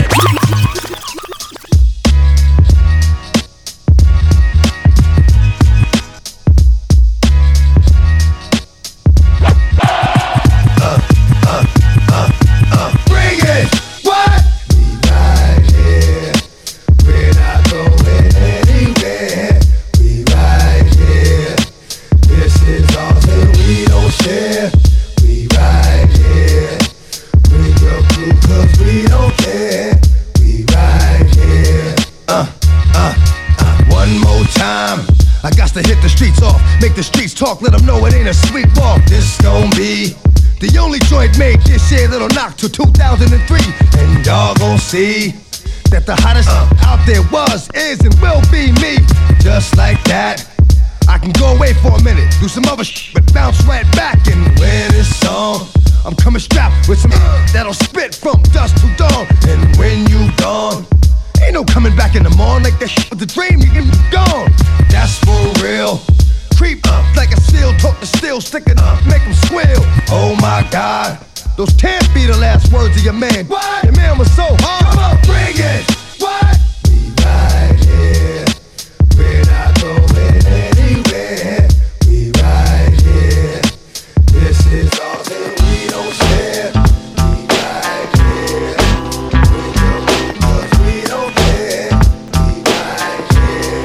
Make the streets talk, let them know it ain't a sweet walk. This gon' be the only joint made this year that'll knock till two thousand three. And y'all gon' see that the hottest uh. out there was, is, and will be me. Just like that, I can go away for a minute, do some other shit, but bounce right back. And when it's on, I'm coming strapped with some uh, that'll spit from dusk to dawn. And when you gone, ain't no coming back in the morning. Like that shit was a dream, you can be gone. That's for real. Creep up like a seal, talk to steel, sticking up, make them squeal. Oh my God, those can't be the last words of your man. What? Your man was so hard. Come on, bring it. What? We right here, we're not going anywhere. We right here, this is all that we don't share. We right here, with your people, we don't care. We right here.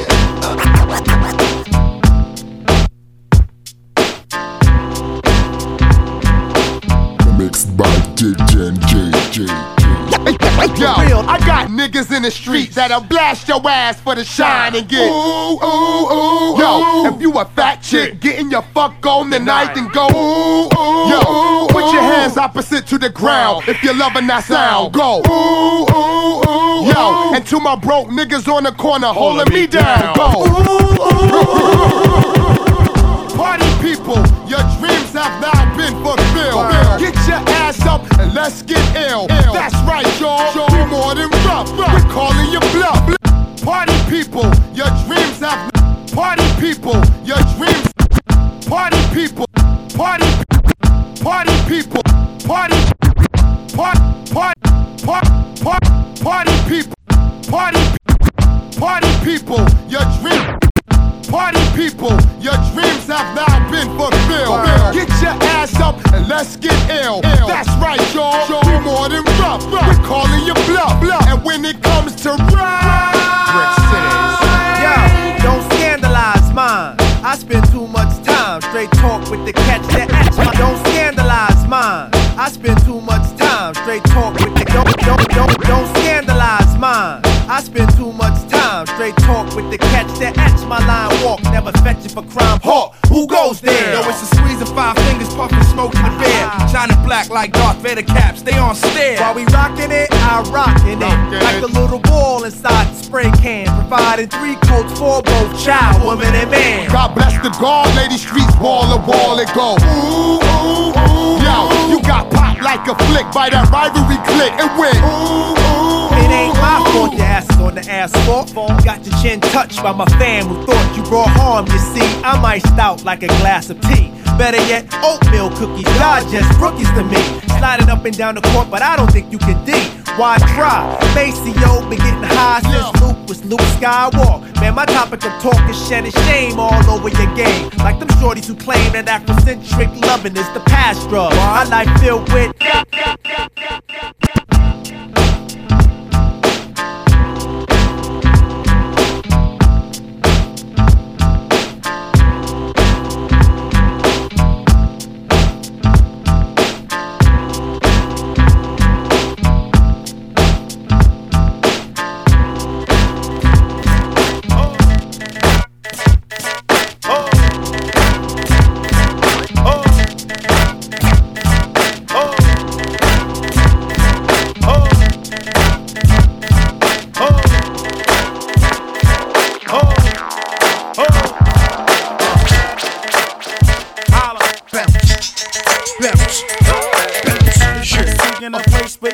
Mixed by J J J J. Yo, I got niggas in the streets that'll blast your ass for the shine and get ooh, ooh, ooh. Yo, if you a fat chick, getting your fuck on tonight, then go ooh, ooh. Yo, put your hands opposite to the ground if you're loving that sound. Go ooh, ooh, ooh. Yo, and to my broke niggas on the corner holding me down. Go party people, your dreams have now been fulfilled. Get your ass up and let's get ill. That's right, y'all. We more than rough. We're calling you bluff. Party people, your dreams have. Party people, your dreams. Party people, party, party people, party, party, party, party, party people, party, party people, your dreams. Party people, your dreams have now been fulfilled. Get your ass up and let's get ill. That's right, y'all. We more than rough. We're calling you bluff. And when it comes to rap, yo, don't scandalize mine. I spend too much time straight talk with the catch that ask my. Don't scandalize mine. I spend too much time straight talk with the. Don't don't don't don't scandalize mine. I spend too much time straight talk with the catch that ask my line walk. Never fetch it for crime. Hawk, who goes there? Yo, it's a squeeze of five fingers, puffing smoke in the bear. Shining black like Darth Vader caps, stay on stare. While we rockin' it, I rockin' it. Rockin like a little ball inside the spray can. Providing three coats for both child, woman, and man. God bless the guard, lady streets, wall to wall and go. Ooh, ooh, ooh. Yo, you got popped like a flick by that rivalry click and went. Ooh, ooh. It ain't my fault your ass is on the asphalt. Got your chin touched by my fam who thought you brought harm. You see, I'm iced out like a glass of tea. Better yet, oatmeal cookies, y'all just rookies to me. Sliding up and down the court, but I don't think you can D. Why try? Maceo been getting high since Luke was Luke Skywalker. Man, my topic of talk is shedding shame all over your game. Like them shorties who claim that Afrocentric loving is the past drug. My life filled with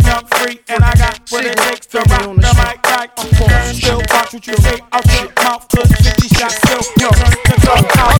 but young free, and I got what it takes to rock the mic like a force. Still watch what you say out your mouth, cause fifty shots still turn to go out.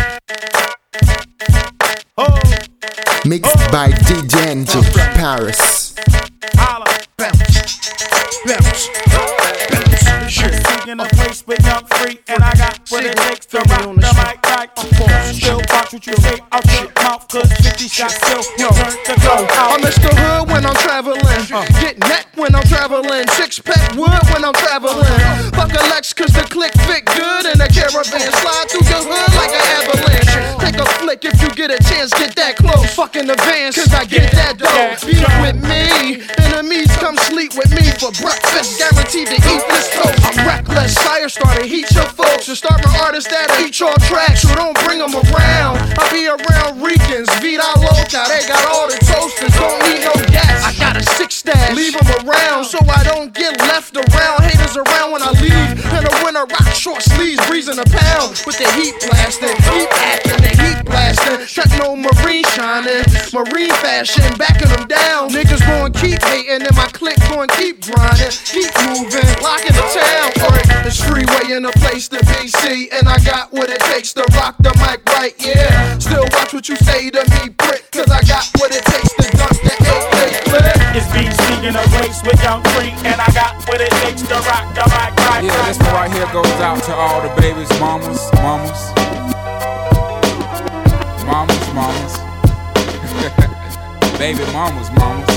Oh. Mixed oh. by D J N J Paris. Holla, bounce, bounce, bounce. Seeking a place with young free, and I got what it takes to rock the mic like a force. Still watch what you say out your mouth, cause fifty shots still turn to go out. I'm Mister Hood when I'm traveling, uh. get neck when I'm traveling, six pack wood when I'm traveling. Fuck a Lex cause the click fit good in a caravan. Slide through your hood like an avalanche. Take a flick if you get a chance, get that close. Fucking advance cause I get that dough. Beat up with me, enemies come sleep with me for breakfast. Guaranteed to eat this toast. I'm reckless, fire starter, heat your folks. And start my artists that'll eat your tracks, so don't bring them around. I be around Ricans, Vida Loca, they got all the toasters, don't need no gas. I got a six stash, leave them around so I don't get left around. Haters around when I leave, in the winter rock short sleeves, breezing a pound with the heat blasting, heat acting, the heat blasting. Techno marine shining, marine fashion, backing them down. Niggas gon' keep hating and my clique gon' keep grinding, keep moving, locking the town. It's freeway in a place to be, see, and I got what it takes to rock the mic right, yeah. Still watch what you say to me, prick, cause I got what it takes to dunk the A K clip. It's B C in a race with young free, and I got what it takes to rock the mic right. Yeah, this one right here goes out to all the babies, mamas, mamas, mamas, mamas, baby mamas, mamas.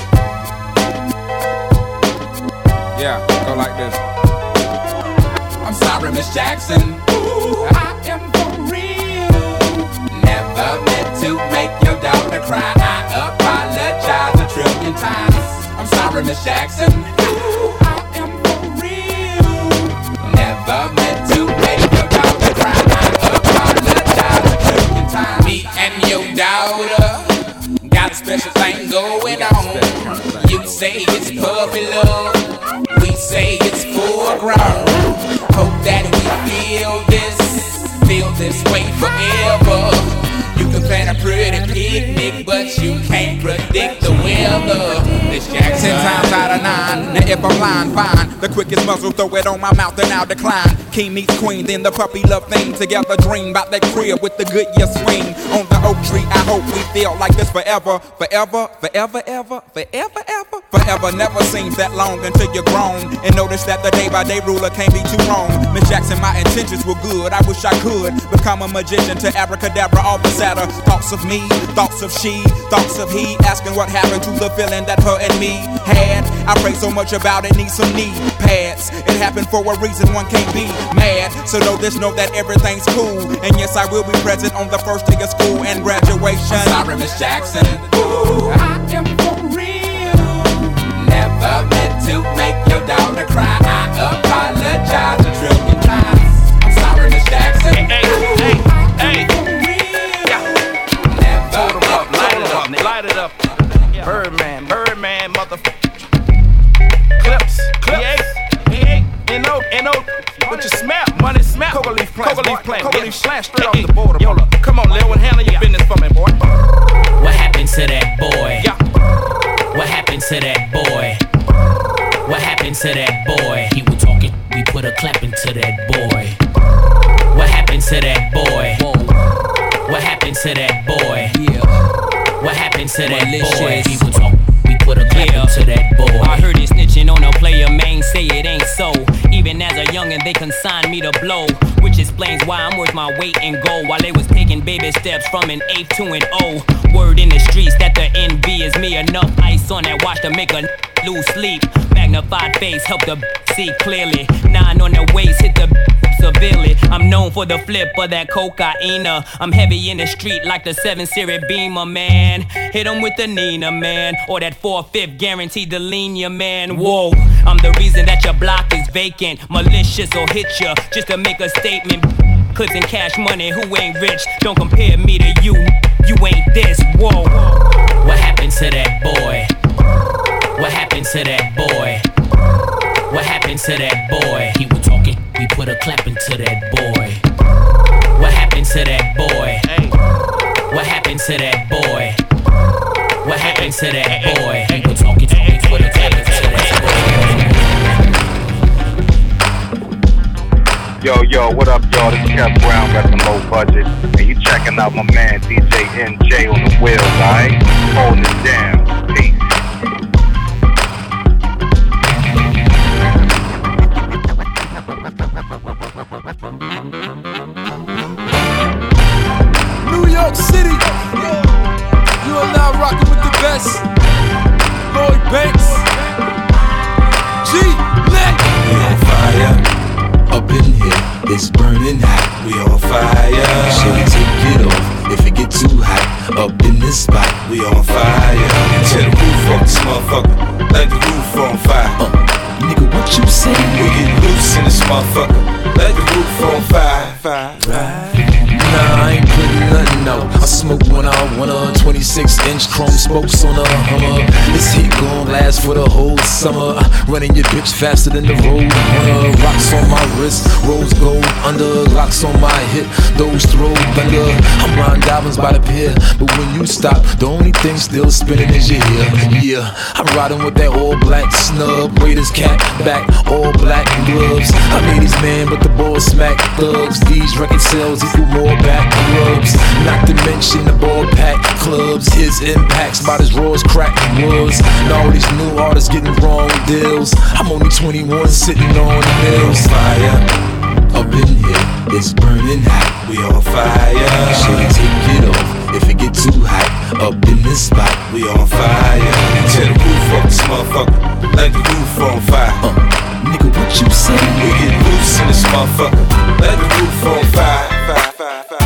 Yeah, go like this. I'm sorry, Miss Jackson. Ooh, I am for real. Never meant to make your daughter cry. I apologize a trillion times. I'm sorry, Miss Jackson. Ooh, I am for real. Never meant to make your daughter cry. I apologize a trillion times. Me and your daughter got a special thing going on. You say it's puppy love. We say it's foreground. Hope that we feel this, feel this way forever. You can plan a pretty picnic, but you can't predict the weather. This Jackson. Ten times out of nine. Now if I'm lying, fine. The quickest muzzle, throw it on my mouth and I'll decline. King meets queen, then the puppy love thing. Together dream about that crib with the good year swing. On the oak tree, I hope we feel like this forever. Forever, forever, ever, forever, ever. Forever never seems that long until you're grown. And notice that the day by day ruler can't be too wrong. Miss Jackson, my intentions were good. I wish I could become a magician to abracadabra all the sadder. Thoughts of me, thoughts of she, thoughts of he. Asking what happened to the feeling that her and me had. I pray so much about it, need some knee pads. It happened for a reason, one can't be mad. So know this, know that everything's cool. And yes, I will be present on the first day of school and graduation. I'm sorry, Miss Jackson. Ooh, I am for real. Never meant to make your daughter cry. I apologize a trillion times. I'm sorry, Miss Jackson. Hey, hey, hey, hey. Never meant to light it up, light it up. Birdman, Birdman, motherfucker. Clips, clips. N O, N O, what you smell? Money smell. Coca leaf plant, Coca leaf plant, Coca leaf plant, straight off the border. Yola, come on, Lil, and handle your business for me, boy. What happened to that boy? Yeah. What happened to that boy? What happened to that boy? He was talking, we put a clap into that boy. What happened to that boy? Whoa. What happened to that boy? Yeah. What happened to that boy? He was talking. Put a clap yeah. into that boy. I heard it snitching on a player, man, say it ain't so. Even as a youngin', they consigned me to blow, which explains why I'm worth my weight in gold. While they was taking baby steps from an eighth to an O. Word in the streets that the envy is me. Enough ice on that watch to make a lose sleep. Magnified face help the see clearly. Nine on the waist hit the severely. I'm known for the flip of that cocaine. I'm heavy in the street like the seven series Beamer, man. Hit 'em with the Nina, man. Or that four-fifth guaranteed to lean ya, man. Whoa, I'm the reason that your block is vacant. Malicious or hit ya just to make a statement. Clips and cash money, who ain't rich? Don't compare me to you, you ain't this. Whoa, what happened to that boy? What happened to that boy? What happened to that boy? He was talking, we put a clap into that boy. What happened to that boy? What happened to that boy? What happened to that boy? He was talking, talking. yo, what up, y'all? This is Kev Brown, reppin' Low Budget. And you checking out my man, D J N J on the wheels, alright? Holding it down. Peace. New York City, you are now rocking with the best. Lloyd Banks, G, Nick. We on fire, up in here, it's burning hot. We on fire, should we take it off if it get too hot? Up in this spot, we on fire. Tear the roof off this motherfucker, like the roof on fire. Uh, nigga, what you say? We get loose in this motherfucker, like the roof on fire. Fire, right? Nah, I ain't putting nothing out. I smoke one out, one of twenty-six inch chrome spokes on a Hummer. This heat gon' last for the whole summer. Uh, running your bitch faster than the road runner. Rocks on my wrist, rose gold under. Locks on my hip, those throw thunder. I'm blind diamonds by the pier, but when you stop, the only thing still spinning is your ear. Yeah, I'm riding with that all black snub. Raiders cap back, all black gloves. I made these man, but the ball smack thugs. These record sales equal more back clubs, not to mention the ball pack clubs. His impacts about as raw as crack was. Now all these new artists getting wrong deals. I'm only twenty-one sitting on the hills. Fire, up in here, it's burning hot. We on fire, should we take it off if it get too hot? Up in this spot, we on fire. Tear the roof off this motherfucker, like the roof on fire. Uh, nigga, what you say? We get loose in this motherfucker, like the roof on fire. Fire, fire, fire.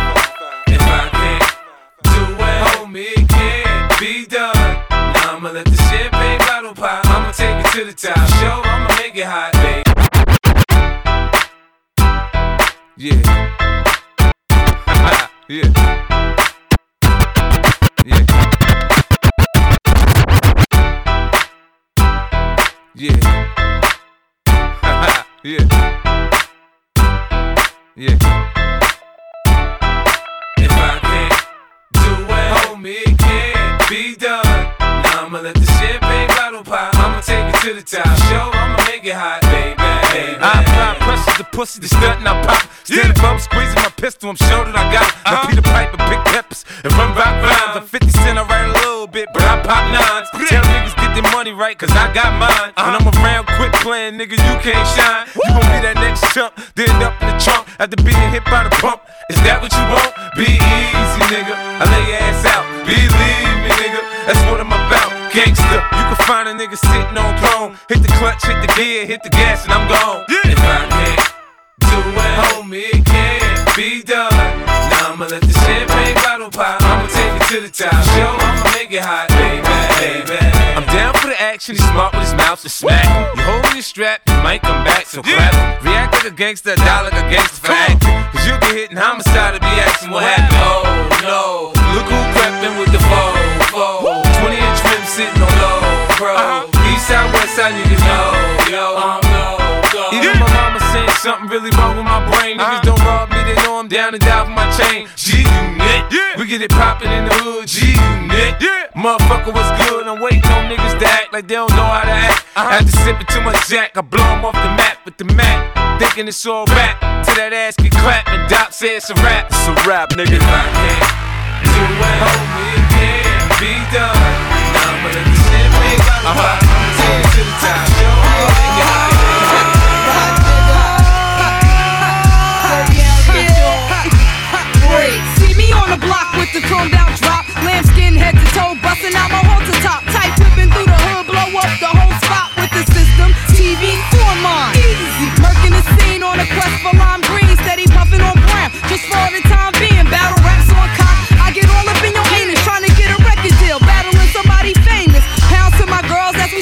It can't be done. Now I'ma let the champagne bottle pop. I'ma take it to the top. Show, I'ma make it hot, baby. Yeah. Yeah. Yeah. Yeah. Yeah. Yeah. If I can't do it, homie, it can't be done. Now I'ma let the champagne bottle pop. I'ma take it to the top. Show, I'ma make it hot, baby. baby. I apply pressure to pussy, the stunt and I pop. Standing yeah. up, squeezing my pistol, I'm sure that I got it. Now uh-huh. Peter Piper, big peppers, and run rock rhymes. Like fifty cent, I write a little bit, but I pop nines. Tell niggas get their money right, cause I got mine. Uh-huh. When I'm around, quit playing, nigga, you can't shine. You gon' be that next chump, then end up in the trunk after being hit by the pump. Is that what you want? Be easy, nigga. I lay your ass out. Believe me, nigga. That's what I'm about. Gangsta. You can find a nigga sitting on throne. Hit the clutch, hit the gear, hit the gas, and I'm gone. Yeah. If I can't do it, homie, it can't be done. Now I'ma let the champagne bottle pop. I'ma take it to the top. Show, I'ma make it hot, baby, baby. I'm down for the action. He's smart with his mouth to smack. You hold me strapped, you might come back, so clap. React like a gangster, die like a gangster for acting. Cause you get hit in homicide and be asking what happened. Oh no, look who crept with the foe, foe. twenty inch rims sitting on low, bro. Uh-huh. East side, west side, niggas know, yo. Um, no, go. Even my mama saying something really wrong with my brain. Niggas uh-huh. don't rob me, they know I'm down and die for my chain. G-Unit, yeah. We get it poppin' in the hood, G-Unit, yeah. Motherfucker, what's good? I'm waiting on niggas to act like they don't know how to act. Uh-huh. After sipping too much Jack, I blow them off the map with the Mac. Thinking it's all rap, till that ass get clapped and Doc say it's a rap. It's a rap, nigga. If I can't do it, homie, it can't be done. Now I'ma let the champagne bottle pop. I'ma take it to the top. Show, I'ma make it hot. See me on the block with the chrome down drop, lambskin head to toe, busting out my halter top, tight whipping through the hood, blow up the whole spot with the system. T V for mine, easy, murking the scene on a quest for lime green, steady puffing on brown, just for the time being. Battle raps on cop, I get all up in your anus, trying to get a record deal, battling somebody famous. Pounds to my girls, that's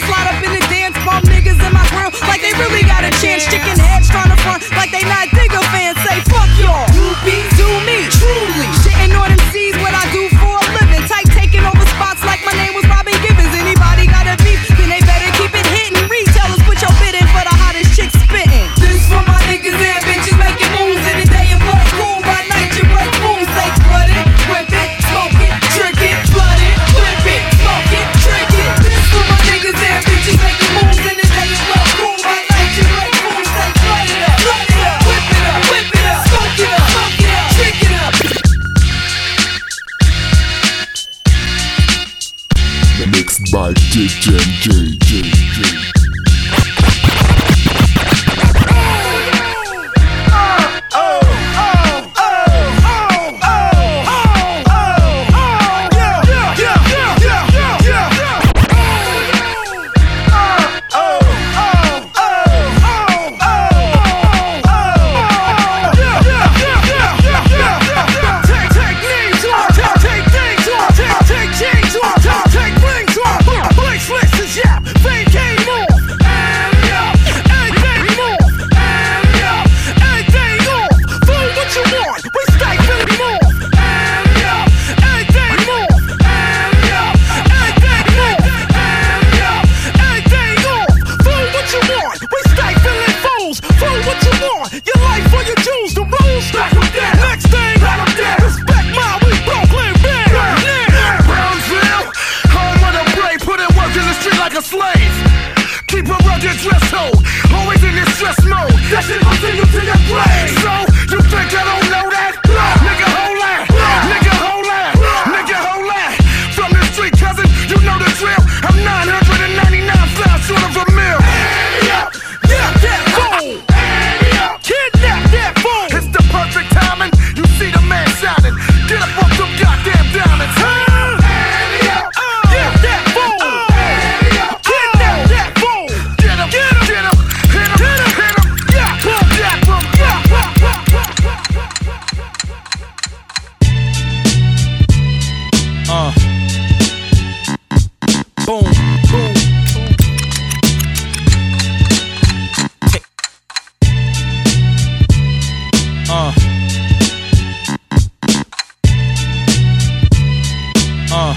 life. Keep a rugged dress code, always in this stress mode. That shit gon' send you to your grave. So, you think I don't know that? Nigga, hold that. Nigga, hold that. Nigga, hold that. From the street, cousin, you know the drill. I'm nine hundred ninety-nine flies short of a mill. Yeah, yeah, that fool. Kidnap that fool. It's the perfect timing. You see the man shining. Get up off them goddamn diamonds. Huh? Uh. Boom, boom. Tick. Uh. Uh.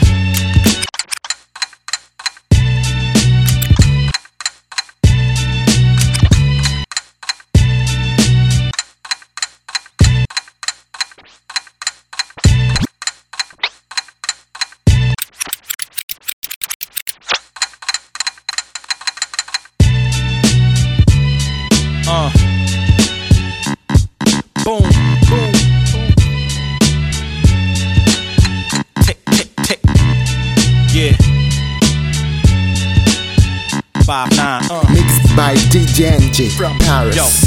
Uh. Boom, boom. Tick, tick, tick. Yeah. Five nine. Uh. Mixed by D J N J from Paris. Yo.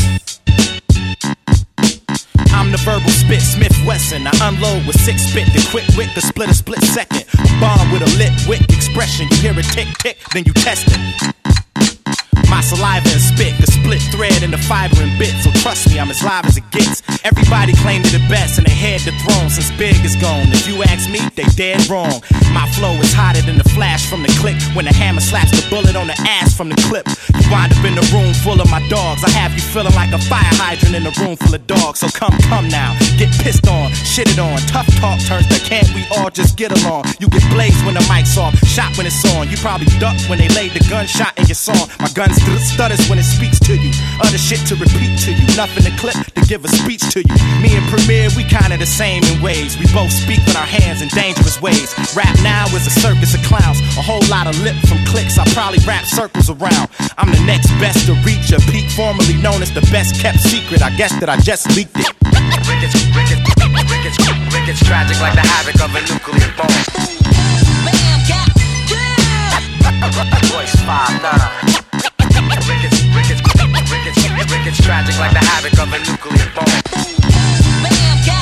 I'm the verbal spit, Smith Wesson. I unload with six spit, the quick wit, the split a split second. Bomb with a lit wit expression. You hear it tick tick, then you test it. My saliva and spit, the split thread and the fiber and bit. So trust me, I'm as live as it gets. Everybody claimed it the best and they had the throne since Big is gone. If you ask me, they dead wrong. My flow is hotter than the flash from the click when the hammer slaps the bullet on the ass from the clip. You wind up in the room full of my dogs. I have you feeling like a fire hydrant in a room full of dogs. So come, come now, get pissed on, shitted on. Tough talk turns to can't we all just get along? You get blazed when the mic's off, shot when it's on. You probably ducked when they laid the gunshot in your song. My gun st- stutters when it speaks to you. Other shit to repeat to you. Nothing to clip to give a speech to you. Me and Premier, we kinda the same in ways. We both speak with our hands in dangerous ways. Rap now is a circus of clowns. A whole lot of lip from clicks. I probably wrap circles around. I'm the next best to reach a peak, formerly known as the best kept secret. I guess that I just leaked it. Rickets, rickets, rickets, rickets, tragic like the havoc of a nuclear bomb. Bam, yeah, yeah. Voice five nine. Rickets, rickets, rickets, rickets, tragic like the havoc of a nuclear bomb. Bam, yeah,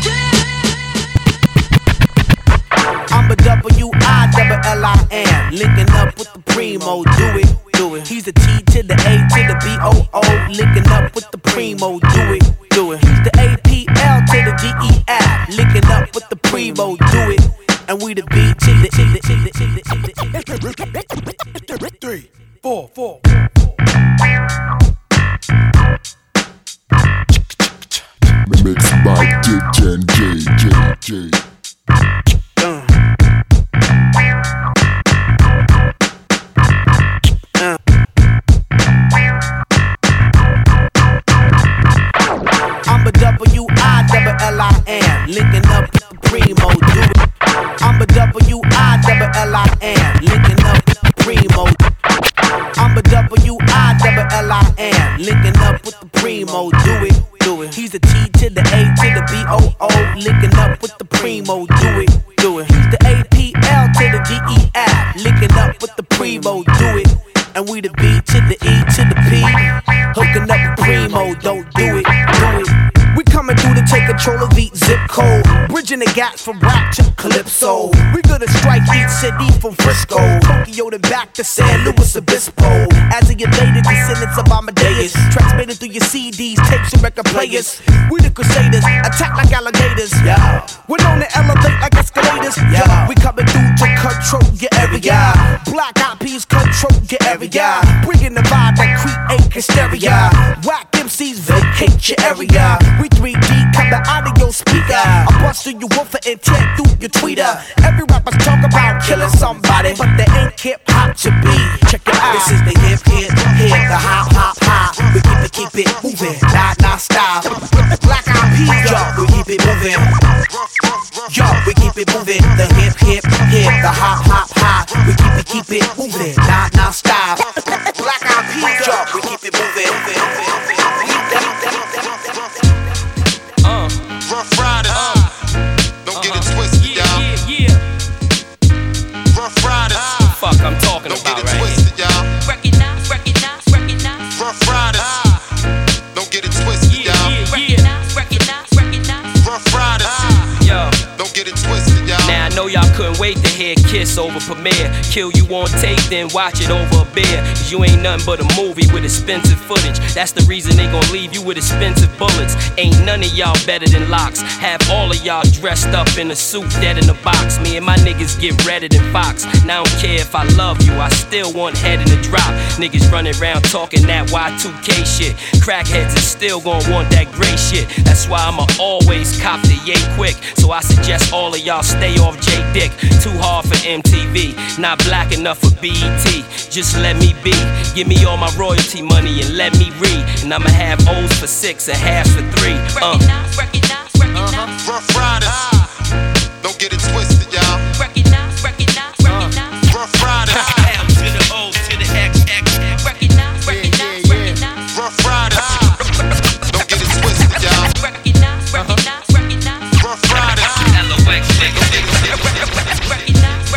yeah. I'm a W I double L I N, linking up with the primo. Do it, do it. He's the T to the A to the B O O, linking up with the primo. Do it, do it. He's the A P L to the G E F, linking up with the primo. Do it. And we the B to the three, four, four. Mixed by D J N J, J, J. Uh. Uh. I'm a W I double L I N, linking up with the primo. Do it. I'm a W I double L I N, linking up with the primo. I'm a W I double L I N, linking up with the primo. Do it, do it. He's the T to the A to the B O O, linking up with the primo. Do it, do it. He's the A P L to the G E F, linking up with the primo. Do it. And we the B to the E to the P, hooking up with primo. Don't do it, do it. We coming through to take control of each zip code, bridging the gaps from rap to calypso. We gonna strike each city from Frisco, Tokyo to back to San Luis Obispo. As a elated descendants of Amadeus, transmitted through your C Ds, tapes and record players. We the crusaders, attack like alligators. Yeah, we're known to elevate like escalators. Yeah, we coming through to control your area. Black Eyed Peas control your area, bringing the vibe that create hysteria. Whack M Cs vacate your area. We three D coming out of your speaker. I bust through your woofer and tear through your tweeter. Every rapper's talk about killing somebody, but they ain't hip hop to be. Check it out. This is the hip hip hip, the hop hop hop. We keep it keep it moving, not not style. Black Eyed Peas, yo, we keep it moving. Yo, we keep it moving. The hip hip hip, the hop hop hop. We keep it keep it moving, not not style. crossover premiere. Kill you on tape, then watch it over a beer. Cause you ain't nothing but a movie with expensive footage. That's the reason they gon' leave you with expensive bullets. Ain't none of y'all better than Locks. Have all of y'all dressed up in a suit, dead in the box. Me and my niggas get redder than Fox. Now I don't care if I love you, I still want head in the drop. Niggas running around talking that Y two K shit. Crackheads is still gon' want that gray shit. That's why I'ma always cop the yay quick. So I suggest all of y'all stay off J Dick. Too hard for M T V, not black enough for B E T. Just let me be, give me all my royalty money and let me read. And I'ma have O's for six and halves for three. Uh. Uh-huh. Rough Riders, don't get it twisted, y'all. Recognize, recognize, recognize. Rough Riders, M to the O to the X X. Recognize, recognize, recognize. Rough Riders, don't get it twisted, y'all. Recognize, recognize, recognize. Rough Riders, L O X, nigga. Recognize,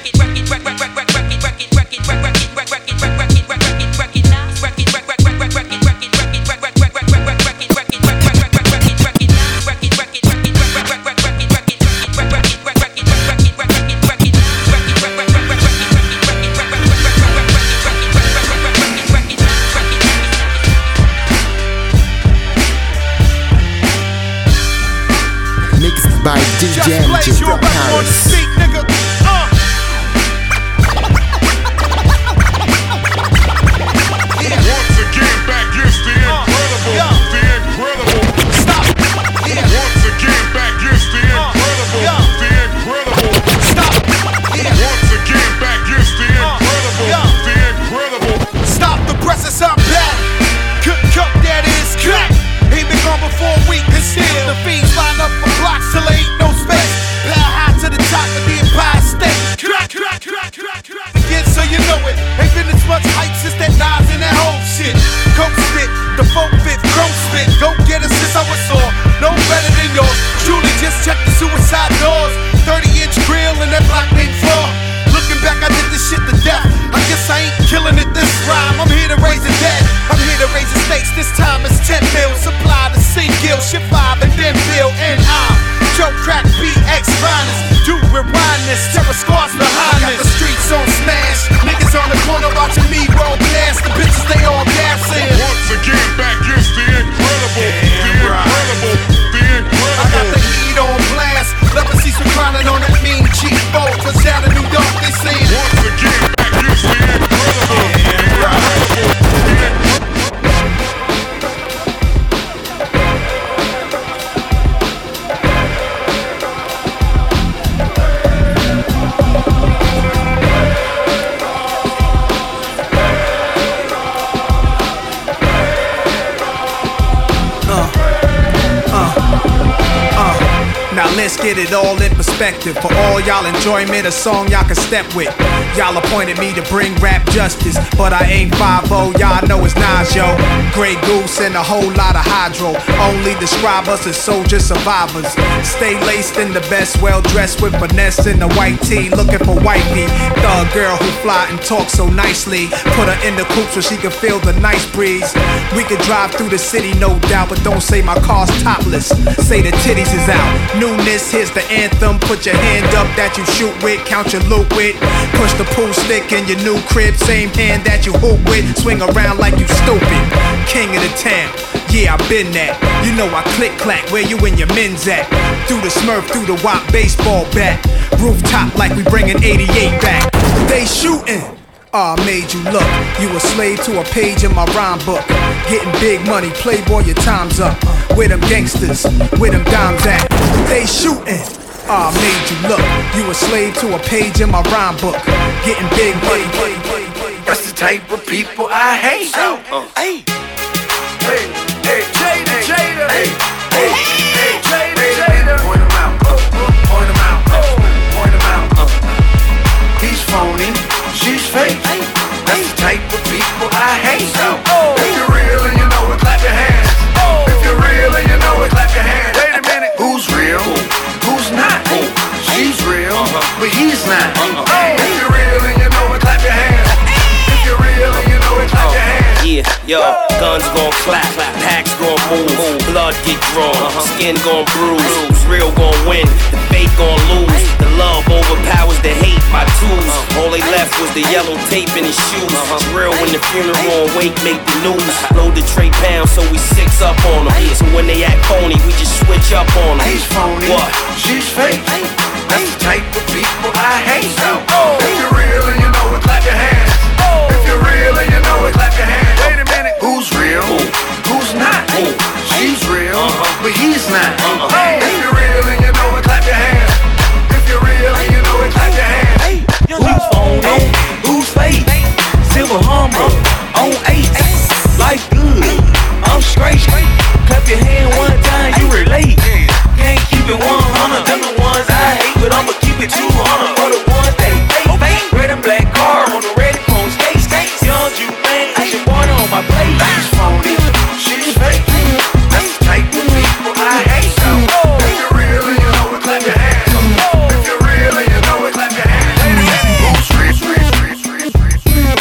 Mixed by D J M J from Paris. once again back is the incredible, the incredible. Stop. Once again back is the incredible, the incredible. Stop. Once again back is the incredible, the incredible. Stop the presses, I'm back. Cook, cook, that is crack. He been gone before a week and still the fiends line up for blocks till there ain't no space. Power high to the top of the Empire State. Crack, crack, crack, crack, crack. Again, so you know it. Ain't been as much hype since that Nas and that whole shit. Coke spit, the folk fit, chrome spit. Go get it since I was sore. No better than yours. Truly just check the suicide doors. thirty inch grill and that block named floor. Looking back, I did this shit to death. I guess I ain't killing it this rhyme. I'm here to raise the dead. I'm here to raise the stakes. This time it's ten mil. Supply the single, ship five and then bill. And I'm Joe Crack B X finest. Do rewind this. Terror scars behind us. Got the streets on smash. Niggas on the corner watching me roll blast. The bitches they all gassing. Once again back is the incredible, the incredible, the incredible. I got the heat on blast. Leprosy reclining on that mean cheap boat. Cause down in New York they say once again back is the incredible, the incredible, the incredible. Now let's get it all in perspective. For all y'all enjoyment, a song y'all can step with. Y'all appointed me to bring rap justice, but I ain't five oh, y'all know it's Nas, yo. Grey Goose and a whole lot of hydro. Only describe us as soldier survivors. Stay laced in the best, well dressed with finesse in the white tee, looking for wifey. Thug girl who fly and talk so nicely. Put her in the coupe so she can feel the nice breeze. We could drive through the city, no doubt, but don't say my car's topless. Say the titties is out. Newness, here's the anthem. Put your hand up that you shoot with, count your loot with. Push the pool stick in your new crib, same hand that you hoop with. Swing around like you stupid. King of the town, yeah, I been that. You know I click clack, where you and your men's at? Through the Smurf, through the Wop baseball bat. Rooftop like we bringing eighty-eight back. They shooting. Ah, oh, made you look. You a slave to a page in my rhyme book. Getting big money, playboy, your time's up. Where them gangsters, where them dimes at? They shooting. Ah, oh, made you look. You a slave to a page in my rhyme book. Getting big money. That's the type of people I hate. Hey, hey, hey, Jada, Jada, hey, hey, hey, Jada, Jada. Point him out, point him out, point him out. He's phony, she's fake. That's the type of people I hate. If you're real and you know it, clap your hands. If you're real and you know it, clap your hands. Wait a minute, who's real? Who's not? She's real, but he's not. If you're real and you know it, clap your hands. If you're real and you know it, clap your hands. Yeah, yo, guns gon' clap, packs gon' move. blood get drawn, skin gon' bruise, who's real gon' win, the fake gon' lose. The love overpowers the hate by twos. All they left was the yellow tape in his shoes. It's real when the funeral and wake make the news. Load the tray pounds so we six up on them. So when they act phony, we just switch up on them. He's phony, what? She's fake. That's the type of people I hate. If you're real and you know it, clap your hands. If you're real and you know it, clap your hands. Wait a minute, who's real? Who's not? She's real, but he's not. If you're real and you know it, clap your hands. If you're real and you know it, clap your hands. Who's phony? Who's fake? Silver Hummer on eight. Life good, I'm straight. Clap your hand one time, you relate. Can't keep it one hundred, them the ones I hate, but I'ma keep it two hundred for the ones they fake. Red and black car on the red cone skate. Young you man, I should born on my plate. She's phony, she's fake. That's the type of people I hate. If you're real and you know it, clap your hands. If you're real and you know it, clap your hands. Who's free, free, free, free, free, free.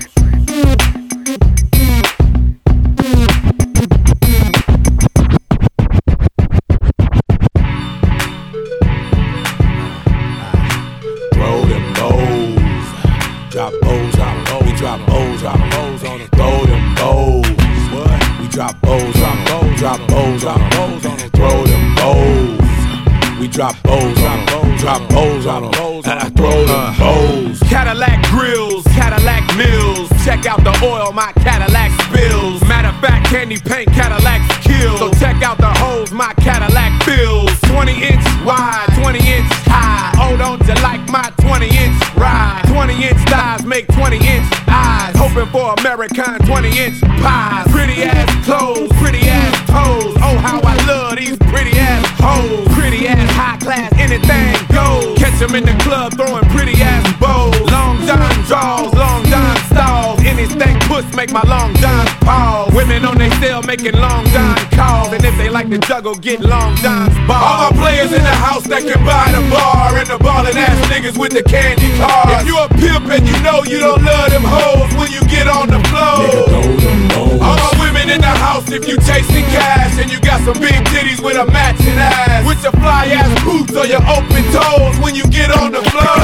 Throw them bows, drop bows out, we drop bows out, bows on it. Throw them bows, what? We drop bows out, bows, drop bows out, bows on it. Throw them bows, we drop bows out, drop bows out, bows on it. Throw them bows. Cadillac grills, Cadillac mills. Check out the oil my Cadillac spills. Matter of fact, candy paint Cadillacs kill. So check out the holes my Cadillac fills. twenty inch wide, twenty inch high. Oh, don't you like my twenty inch ride? twenty inch thighs make twenty inch eyes. Hoping for American twenty inch pies. Pretty ass clothes, pretty ass toes. Oh, how I love these pretty ass hoes. Pretty ass high class, anything goes. Catch them in the club throwing pretty ass bows. Long John draws, long John stalls. Anything push make my long John pause. Women on they cell making long John calls. And if they like to juggle, get long John's balls. All my players in the house that can buy the bar. And the ballin' ass niggas with the candy cars. If you a pimp and you know you don't love them hoes when you get on the floor. All my women in the house if you chasing cash. And you got some big titties with a matching ass. With your fly ass boots or your open toes when you get on the floor.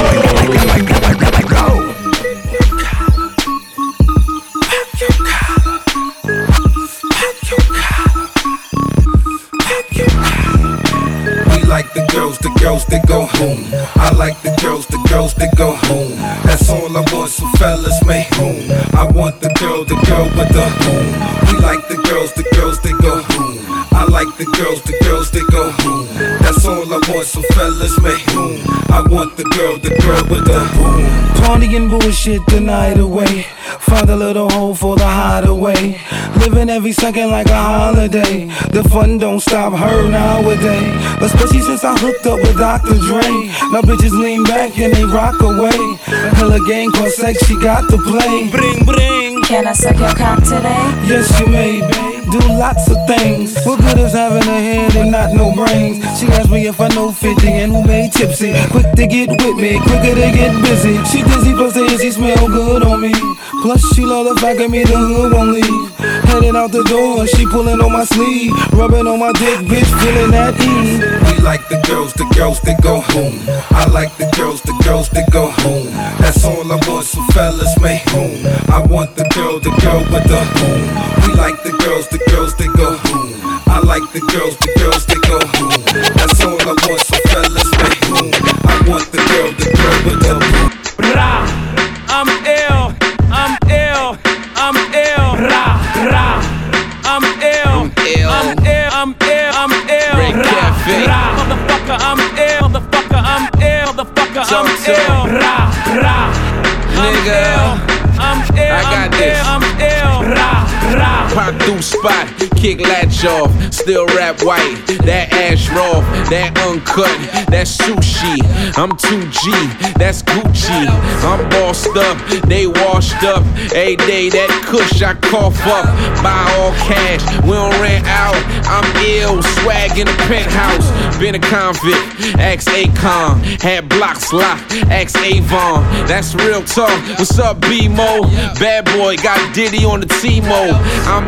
Like the girls, the girls that go home. I like the girls, the girls that go home. That's all I want, so fellas make home. I want the girl, the girl with the home. We like the girls, the girls that go home. I like the girls, the girls that go home. That's all I want, so fellas make home. I want the girl, the girl with the home. Party and bullshit the night away. Find a little hole for the hideaway. Living every second like a holiday. The fun don't stop her nowadays. Especially since I hooked up with Doctor Dre. Now bitches lean back and they rock away. Hella game called sex, she got to play. Bring, bring. Can I suck your cock today? Yes, you may, babe. Do lots of things. What good is having a head and not no brains? She asked me if I know fifty and who made tipsy. Quick to get with me, quicker to get busy. She dizzy plus the she smell good on me. Plus she love the fact of me, the hood won't leave. Heading out the door, she pulling on my sleeve. Rubbing on my dick, bitch, feeling that ease. We like the girls, the girls that go home. I like the girls, the girls that go home. That's all I want, so fellas make home. I want the girl, the girl with the home. We like the girls, the girls that go home. I like the girls, the girls that go home. That's all I want, so fellas make home. I want the girl, the girl with the home. Rah, I'm ill, I'm ill, I'm ill. Rah, rah, I'm ill, I'm ill, I'm ill, I'm ill. Rah, rah, motherfucker, I'm ill, motherfucker, I'm ill, motherfucker, I'm ill. Rah, rah, nigga. I'm ill, I got I'm this. Ill, I'm ill. Rah, rah. Pop through spot, kick latch off, still rap white. That ash raw, that uncut, that's sushi. I'm two G, that's Gucci. I'm bossed up, they washed up. Every day that kush I cough up. Buy all cash, we don't rent out. I'm ill, swag in the penthouse. Been a convict, ex Akon. Had blocks locked, ex Avon. That's real talk. What's up, B-Mo? Bad boy, got Diddy on the T-Mo. I'm ill,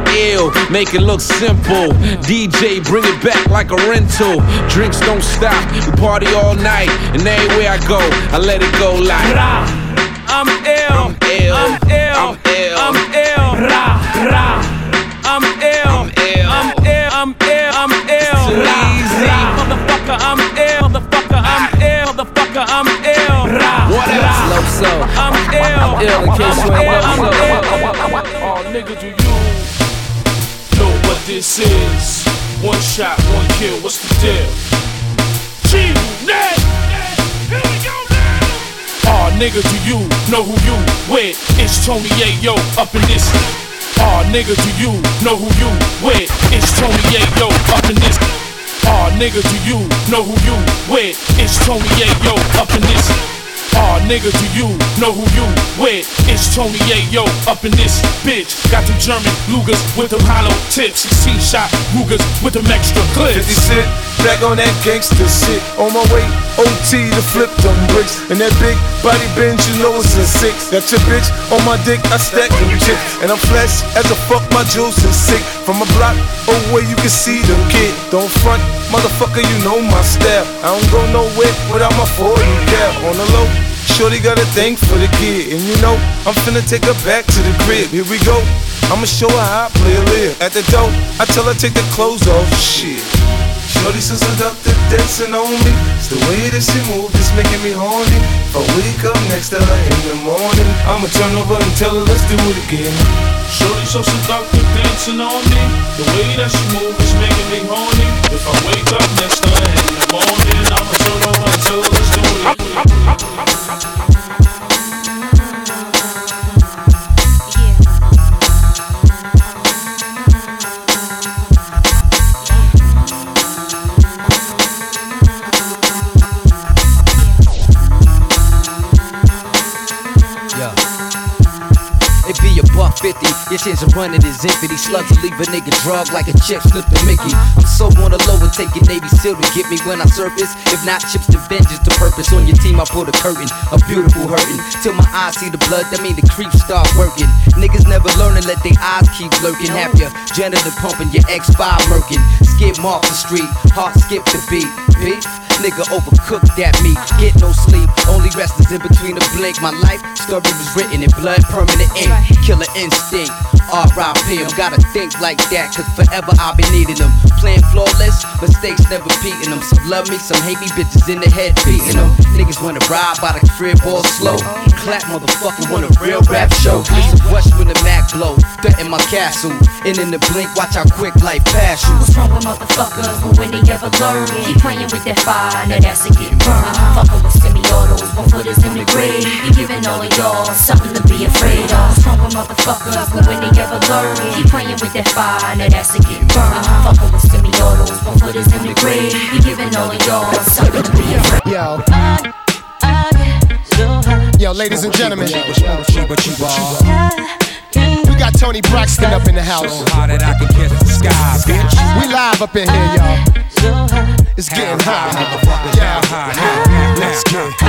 mental, make it look simple. D J, bring it back like a rental. Drinks don't stop, we party all night, and everywhere I go, I let it go like I'm ill, I'm ill, I'm ill, I'm ill, I'm ill, ra, ra. I'm ill, I'm ill, I'm ill, I'm ill, I'm ill, ra, ra. Motherfucker, I'm ill, motherfucker, I'm ill, motherfucker, I'm ill, ra, what else? So I'm ill, I'm ill in case you ain't know so. Oh, nigga, do you know what this is? One shot, one kill, what's the deal? G-Net! Here we go now! Oh, nigga, do you know who you with? It's Tony Yayo up in this. Oh, nigga, do you know who you with? It's Tony Yayo up in this. Oh, nigga, do you know who you with? It's Tony Yayo up in this. Oh, nigga, do you know who you with? It's Tony Yayo up in this bitch. Got them German Lugers with them hollow tips. sixteen shot Rugers with them extra clips. fifty cent, back on that gangster shit. On my way, O T to flip them bricks. And that big body Benz, you know it's a six. Got your bitch on my dick, I stack them chips. And I'm flash as a fuck, my juice is sick. From a block away, you can see them kid. Don't front, motherfucker, you know my style. I don't go nowhere without my forty cap. On the low, shorty got a thing for the kid. And you know, I'm finna take her back to the crib. Here we go, I'ma show her how I play a live. At the door, I tell her take the clothes off. Shit, shorty so seductive, dancing on me. It's the way that she moves, it's making me horny. If I wake up next to her in the morning, I'ma turn over and tell her let's do it again. Shorty so seductive, dancing on me. The way that she moves is making me horny. If I wake up next to her in the morning, I'ma turn over and tell her let's do it again. fifty, your chance of running is empty. Slugs will leave a nigga drug like a chick slipped a Mickey. I'm so on the low and taking Navy SEAL to get me when I surface. If not chips to vengeance to purpose. On your team I put a curtain, a beautiful hurting. Till my eyes see the blood, that mean the creeps start working. Niggas never learning, let their eyes keep lurking. Have your janitor pumping, your X five murking. Skip off the street, heart skip the beat. Beef? Nigga overcooked that meat. Get no sleep, only rest is in between a blink. My life story was written in blood, permanent ink. Killer instinct, R I P em. Gotta think like that, cause forever I've been needing them. Playing flawless, mistakes never beating them. Some love me, some hate me, bitches in the head beating them. Niggas wanna ride by the crib all slow. Clap motherfucker want a real rap show. Listen, rush when the Mac blow, threaten my castle. And in the blink, watch how quick life pass you. What's wrong with motherfuckers, but when they ever learn? Keep playing with that fire, now that's a getting burned. Fucking with semi-autos, one footers in the grave. You giving all of y'all something to be afraid of. What's wrong with motherfuckers, but when they ever learn? Keep playing with that fire, now that's a getting burned. Fucking with semi-autos, one footers in the grave. You giving all of y'all something to be afraid of. Yo. Yo, ladies and gentlemen, we got Tony Braxton up in the house. We live up in here, y'all. It's getting hot, yeah. Let's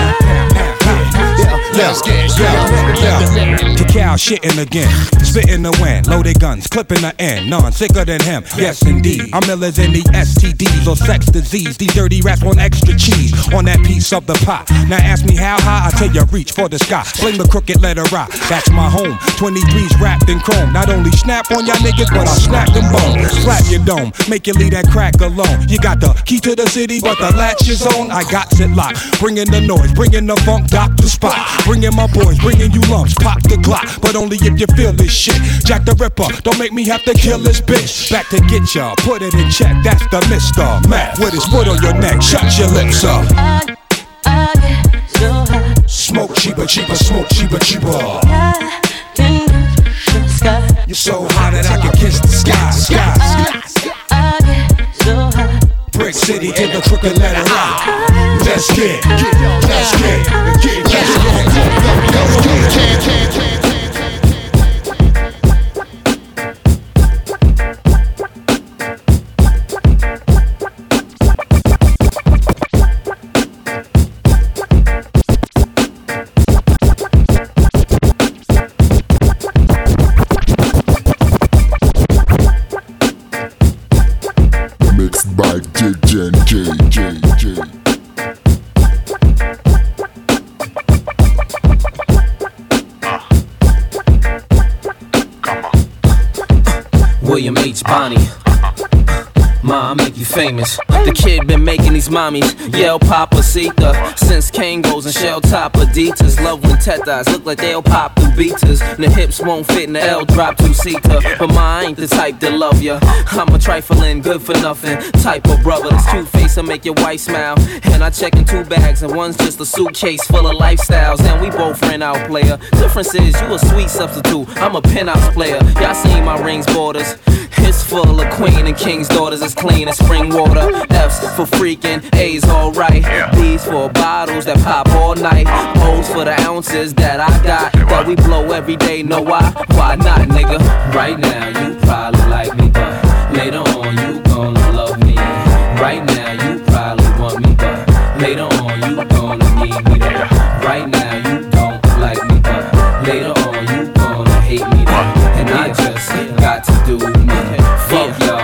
get, let's get, yeah. Cacao shitting again, spitting the wind, loaded guns, clipping the end, none sicker than him. Yes indeed, I'm illers in the S T Ds or sex disease. These dirty rats want extra cheese on that piece of the pot. Now ask me how high, I tell you reach for the sky. Fling the crooked letter rock, that's my home. twenty-threes wrapped in chrome. Not only snap on y'all niggas, but I'll snap them bones. Slap your dome, make you leave that crack alone. You got the key to the city, but the latch is on. I got it locked, bringing the noise, bringing the funk, doctor spot. Bringing my boys, bringing you lumps, pop the Glock. But only if you feel this shit. Jack the Ripper, don't make me have to kill this bitch. Back to get ya, put it in check. That's the Mister Mac with his foot on your neck. Shut your lips up. I, I get so high. Smoke cheaper, cheaper, smoke cheaper, cheaper. I can touch the sky. You're so high that I can kiss the sky, sky, sky. I, I get so high. Brick City to the crooked letter I. Let's get, let's get, let's get, let's get, let's get. William H. Bonney. Ma, I make you famous. The kid been making these mommies yell Papacita since Kangos and shell top Adidas. Love when tetas look like they'll pop through beaters. And the hips won't fit in the L drop two-seater. But ma, I ain't the type that love ya. I'm a trifling, good for nothing type of brother. This cute face will make your wife smile. And I check in two bags and one's just a suitcase full of lifestyles. And we both rent out, player. Difference is you a sweet substitute, I'm a penthouse player. Y'all seen my rings borders. It's full of queen and king's daughters, as clean as spring water. F's for freaking, A's alright. B's for bottles that pop all night. O's for the ounces that I got, that we blow every day. Know why? Why not, nigga? Right now you probably like me, but later on you gonna love me. Right now you probably want me, but later on you gonna need me there. Right now you don't like me, but later on you gonna hate me there. And I just got to do me. Fuck y'all.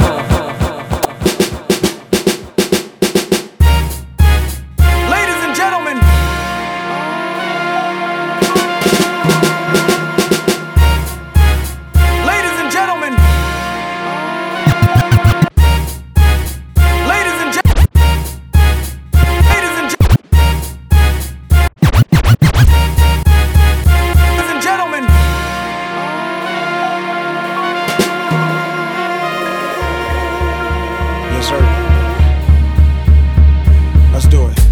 Ladies and gentlemen, ladies and gentlemen, ladies and gentlemen, ladies and gentlemen, ladies and gentlemen. Yes, sir. Let's do it.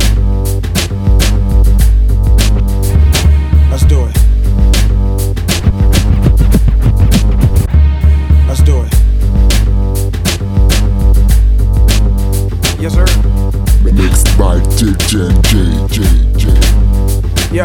Let's do it. Let's do it. Yes, sir. Mixed by D J J J. Yo,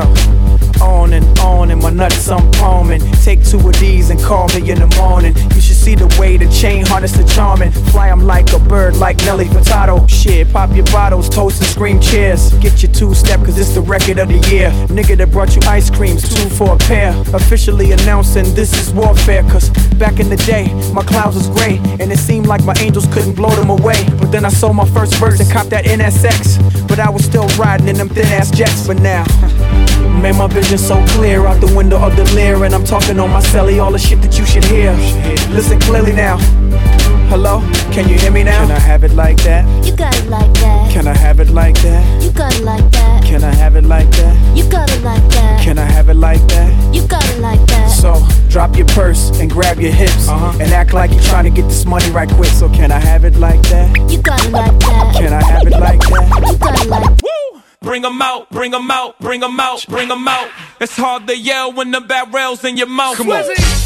on and on and my nuts I'm palming. Take two of these and call me in the morning. You should see the way the chain harness the charming. Fly 'em like a bird, like Nelly Furtado. Shit, pop your bottles, toast and scream cheers. Get your two-step, cause it's the record of the year. Nigga that brought you ice creams, two for a pair. Officially announcing this is warfare. Cause back in the day, my clouds was gray. And it seemed like my angels couldn't blow them away. But then I sold my first verse and copped that N S X. But I was still riding in them thin-ass jets. But now, made my vision so clear out the window of the Lear. And I'm talking on my celly, all the shit that you should hear. Listen clearly now. Hello, can you hear me now? Can I have it like that? You got it like that. Can I have it like that? You got it like that. Can I have it like that? You got it like that. Can I have it like that? You got it like that. So, drop your purse and grab your hips. Uh-huh. And act like you're trying to get this money right quick. So can I have it like that? You got it like that. Can I have it like that? You got it like that. Woo! Bring 'em out, bring 'em out, bring 'em out, bring 'em out. It's hard to yell when the barrel's in your mouth. Come on.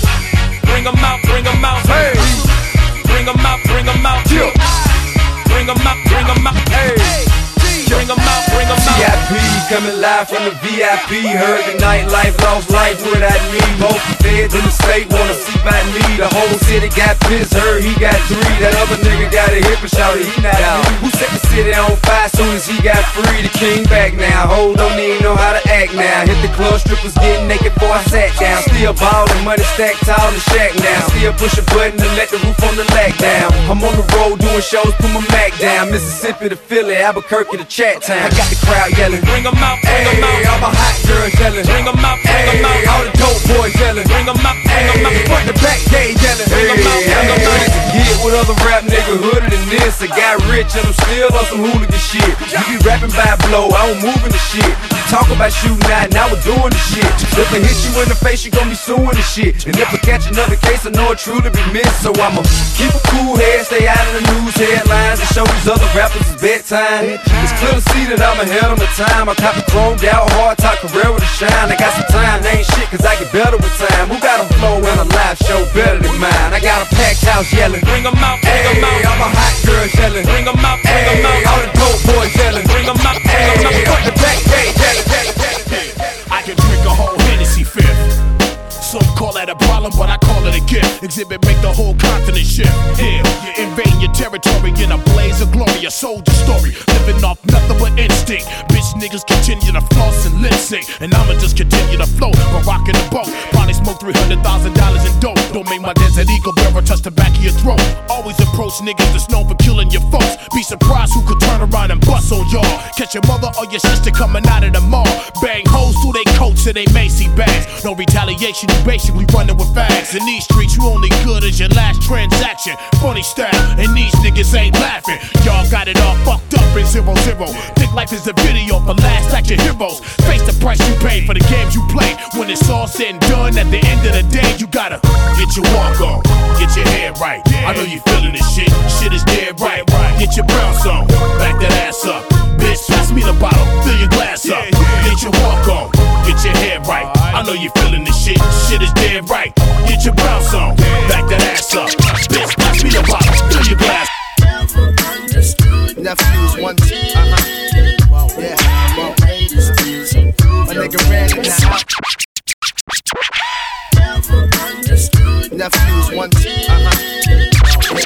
Bring 'em out, bring 'em out. Hey. Bring 'em out, bring 'em out. Yeah. Bring 'em out, bring 'em out. Hey. Bring 'em out, bring 'em out. V I P coming live from the V I P. Heard the nightlife, lost life without me. Both feds in the state wanna see by me. The whole city got pissed, heard he got three. That other nigga got a hip and shouted he not out. Who set the city on fire soon as he got free? The king back now, ho, don't even know how to act now. Hit the club, strippers getting naked before I sat down. Still ballin', money stacked tall in the shack now. Still push a button to let the roof on the lack down. I'm on the road doing shows, put my Mac down. Mississippi to Philly, Albuquerque to Chat Town. I got the crowd yelling, bring 'em out, bring 'em out. All my hot girls yelling, bring 'em out, bring 'em out. All the dope boys yelling, bring 'em out, bring 'em out. Front the back gate yelling, bring 'em out, bring 'em out. Get with other rap nigga hooded than this. I got rich and I'm still on some hooligan shit. You be rapping by blow, I don't move in the shit. You talk about shooting out, now we're doing the shit. If I hit you in the face, you gon' be suing the shit. And if I catch another case, I know it truly be missed. So I'ma keep a cool head, stay out of the news headlines, and show these other rappers it's bedtime. It's clear to see that I'm ahead of my time. I cop a chromed out, hard top career with a shine. I got some time, they ain't shit cause I get better with time. Who got a flow and a live show better than mine? I got a packed house yelling, bring 'em out, bring 'em out. All my hot girls yelling, bring 'em out, bring 'em out. All the dope boys yelling, bring 'em out, bring 'em out. Front the back gate yelling, I can drink a whole Hennessy fifth. Some call that a problem, but I call it a gift. Exhibit make the whole continent shift. Yeah, you invade your territory in a blaze of glory, a soldier story. Living off nothing but instinct. Bitch niggas continue to floss and lip sync, and I'ma just continue to float, but rockin' the boat. Probably smoke three hundred thousand dollars in dope. Don't make my desert eagle bearer touch the back of your throat. Always approach niggas that's known for killing your folks. Be surprised who could turn around and bust on y'all. Catch your mother or your sister coming out of the mall. Bang hoes through they coats and they Macy bags. No retaliation, you basically running with fast. rags. In these streets, you only good as your last transaction. Funny style, and these niggas ain't laughing. Y'all got it all fucked up in zero zero. Think life is a video for last action heroes. Face the price you pay for the games you play. When it's all said and done, at the end of the day, you gotta get your walk on, get your head right. I know you feeling this shit, shit is dead right. Get your bounce on, back that ass up. Bitch, pass me the bottle, fill your glass up. Get your walk on, get your head right. I know you feeling this shit, shit is dead right. Get your bounce on, back that ass up. Bitch, pass me the bottle, fill your glass. Nephews one two, uh-huh. Yeah, well, my nigga ran in the house. Nephews one two, uh-huh.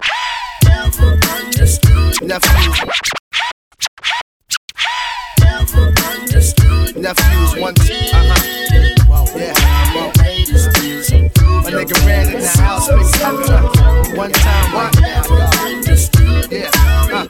Nephews. Nephews one two, uh-huh. Yeah, well, my nigga ran in the house, mixed up one time, one now, yeah, uh.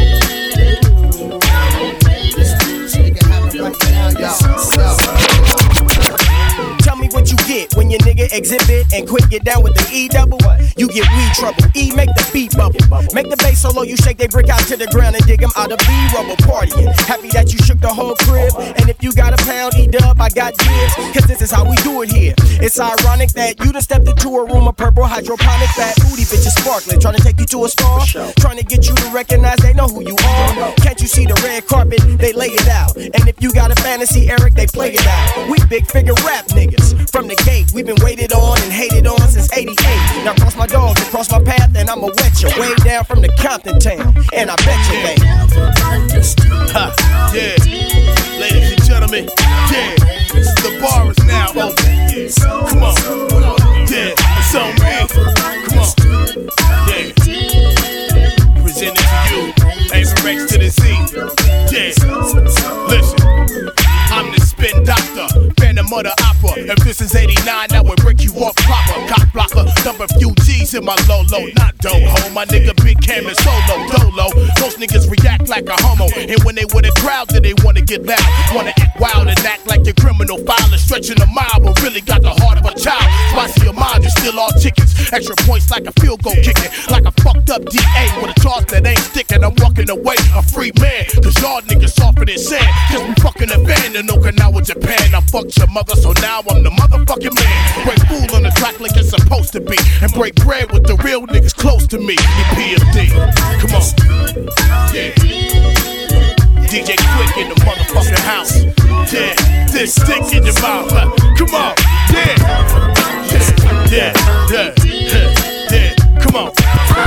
Tell me what you get when your nigga exhibit and quick get down with the E double. You get weed trouble. E make the beat bubble. Make the bass solo, you shake they brick out to the ground and dig them out of B-rubble partying. Happy that you shook the whole crib. And if you got a pound, E-dub, I got dibs. Cause this is how we do it here. It's ironic that you done stepped into a room of purple hydroponic fat booty bitches sparkling. Trying to take you to a star. Trying to get you to recognize they know who you are. Can't you see the red carpet? They lay it out. And if you got a fantasy, Eric, they play it out. We big figure rap niggas. From the gate, we've been waited on and hated on since eighty-eight. Now cross my dogs and cross my path, and I'ma wet you way down from the Compton town. And I bet you, baby. Huh, yeah. Ladies and gentlemen, yeah. The bar is now open. Yeah. Come on. Yeah, it's on me. Come on. Yeah. Presented to you. Aver X to the Z. Yeah. Listen. I'm the spin doctor, phantom of the opera. If this is eighty-nine, that would break you off proper. Cock blocker, dump a few G's in my low-low. Not do-ho, my nigga Big Cam and Solo, dolo. Most niggas react like a homo. And when they with a crowd, then they wanna get loud. Wanna act wild and act like your criminal file is stretching a mile, but really got the heart of a child. Spicy your mind, you still all tickets. Extra points like a field goal kicking. Like a fucked up D A with a charge that ain't sticking. I'm walking away a free man. Cause y'all niggas softer than sand. Cause we fucking abandoned Okinawa, Japan. I fucked your mother, so now I'm the motherfucking man. Break fool on the track like it's supposed to be. And break bread with the real niggas close to me. E P M D, come on. Yeah. D J Quick in the motherfucking house. Yeah, this stick in your mouth. Uh, come on. Yeah. Yeah, yeah, yeah, yeah. Come on.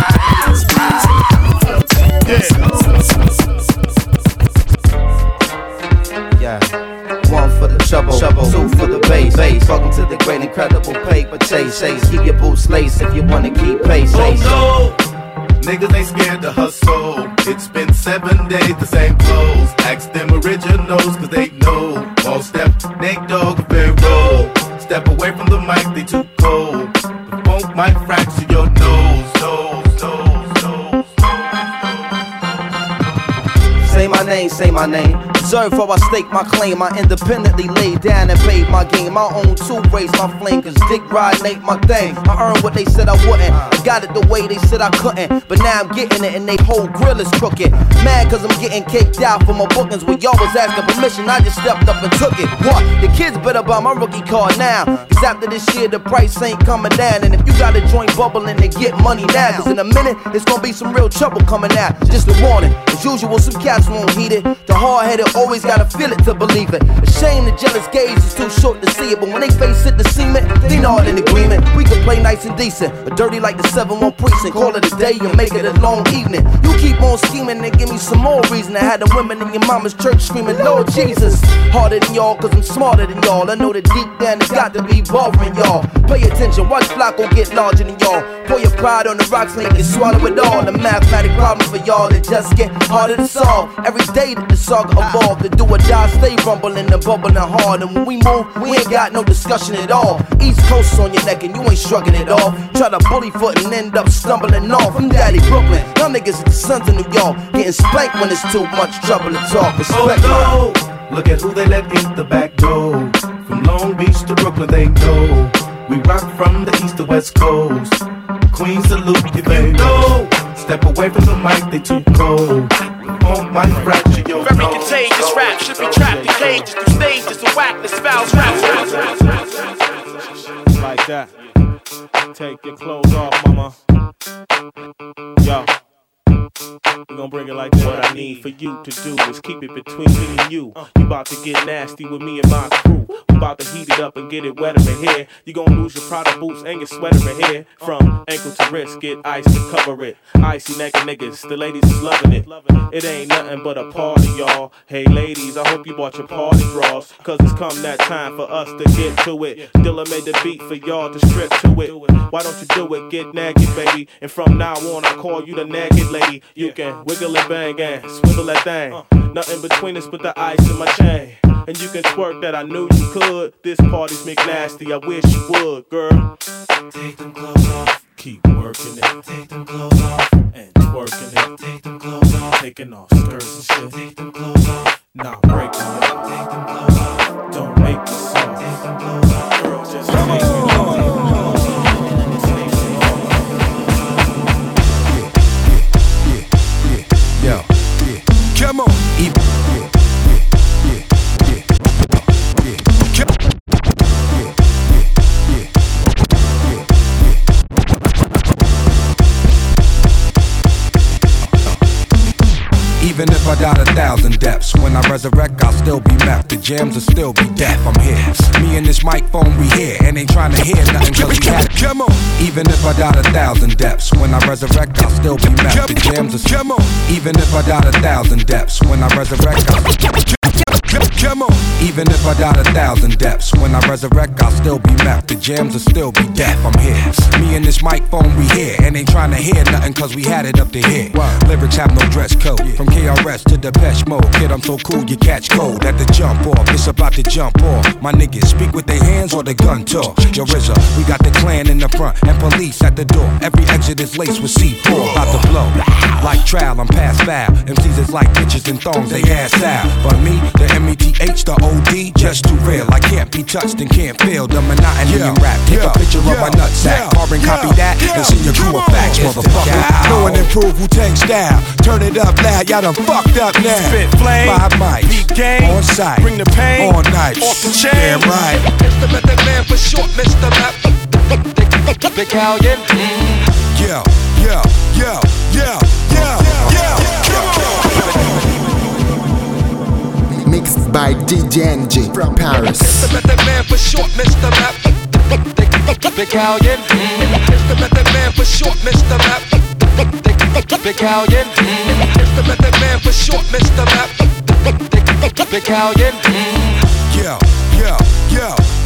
Yeah. One for the trouble, trouble. Two for the bass, bass. Welcome to the great incredible paper chase, chase. Keep your boots laced if you wanna keep pace, pace. Oh no! Niggas ain't scared to hustle. It's been seven days, the same clothes. Ask them originals, cause they know. All step, Nate Dogg, very roll. Step away from the mic, they too cold. The funk might fracture your nose, nose, nose, nose. Say my name, say my name. Observe how I stake my claim. I independently laid down and paid my game. My own two raised my flame, cause dick riding ain't my thing. I earned what they said I wouldn't. I got it the way they said I couldn't. But now I'm getting it and they whole grill is crooked. Mad cause I'm getting caked out for my bookings. When y'all was asking permission, I just stepped up and took it. What? The kids better buy my rookie card now. Cause after this year the price ain't coming down. And if you got a joint bubbling, then get money now. Cause in a minute, it's gonna be some real trouble coming out. Just a warning. As usual, some cats won't heed it. The hard-headed always gotta feel it to believe it. A shame the jealous gaze is too short to see it. But when they face it, the cement, they not in agreement. We can play nice and decent, but dirty like the seven one precinct. Call it a day and make it a long evening. You keep on scheming and give me some more reason to have the women in your mama's church screaming, Lord Jesus. Harder than y'all, cause I'm smarter than y'all. I know that deep down it's got to be bothering y'all. Pay attention, watch Flacco get larger than y'all. Pour your pride on the rocks and you can swallow it all. The mathematic problem for y'all that just get harder to solve. Every day that the saga evolve, the do or die stay rumbling and bubbling hard. And when we move, we ain't got no discussion at all. East Coast on your neck and you ain't shrugging it off. Try to bully foot and end up stumbling off. I'm Daddy Brooklyn, y'all niggas are the sons of New York. Getting spanked when it's too much trouble to talk. Respect oh, no. Look at who they let in the back door. From Long Beach to Brooklyn, they know. We rock from the east to west coast. Queen salute you, baby. No, step away from the mic, they too cold. On my fracture your Very contagious rap should be trapped in cages through stages of whackness, fouls, raps, raps, raps. Like that. Take your clothes off, mama. Yo. We gon' bring it like that. What I need for you to do is keep it between me and you. You about to get nasty with me and my crew. We about to heat it up and get it wetter in here. You gon' lose your Prada boots and your sweater in here. From ankle to wrist, get ice to cover it. Icy naked niggas, the ladies is loving it. It ain't nothing but a party, y'all. Hey ladies, I hope you bought your party drawers, cause it's come that time for us to get to it. Dilla made the beat for y'all to strip to it. Why don't you do it? Get naked, baby. And from now on, I call you the naked lady. You can wiggle and bang and swivel that thing. Nothing between us but the ice in my chain. And you can twerk that, I knew you could. This party's McNasty, I wish you would, girl. Take them clothes off. Keep working it. Take them clothes off. And twerking it. Take them clothes off. Taking off skirts and shit. Take them clothes off. Nah, break me up. Take them clothes off. Don't make me soft. Take them clothes off. Girl, just take me off. Yo, yeah, come on, even, yeah, yeah, yeah, yeah, yeah, come, yeah, yeah, yeah, yeah, yeah. Even if I died a thousand deaths, when I resurrect, I'll still be meth. The jams will still be deaf. I'm here. Me and this microphone, we here, and ain't trying to hear nothing. Cause we had it. Come on. Even if I died a thousand deaths, when I resurrect, I'll still be meth. The jams will come on. Even if I died a thousand deaths, when I resurrect, I'll come on. Even if I died a thousand deaths, when I resurrect, I'll still be meth. The jams will still be deaf. I'm here. Me and this microphone, we here, and ain't trying to hear nothing. Cause we had it up to here. Lyrics have no dress code. From K R S to Depeche Mode. Kid, I'm so cool, you catch cold at the jump off. It's about to jump off. My niggas speak with their hands or the gun talk. Yo, R Z A, we got the clan in the front and police at the door. Every exit is laced with C four. About to blow. Like trial, I'm past foul. M Cs is like bitches and thongs, they ass out. But me, the M E T H, the O D, just too real. I can't be touched and can't feel the monotony in rap. Take a picture of my nutsack, carbon copy that, and see your crew of facts, motherfucker. Know and improve Wu-Tang style. Turn it up loud, y'all done fucked up now. Spit flame, five mics, beat game, on site, bring the pain, on night, off the chain. Damn right. Mister Method Man for short, Mister Map. Big Callion. Yo, yo, yo, yo, yo, yo, Mixed by D J N J from Paris. Mister Method Man for short, Mister Map. Big Callion. Mister Method Man for short, Mister Map. Big Callion. Mister Method Man for short, Mister Map. Big Callion. Yo, yo, yo.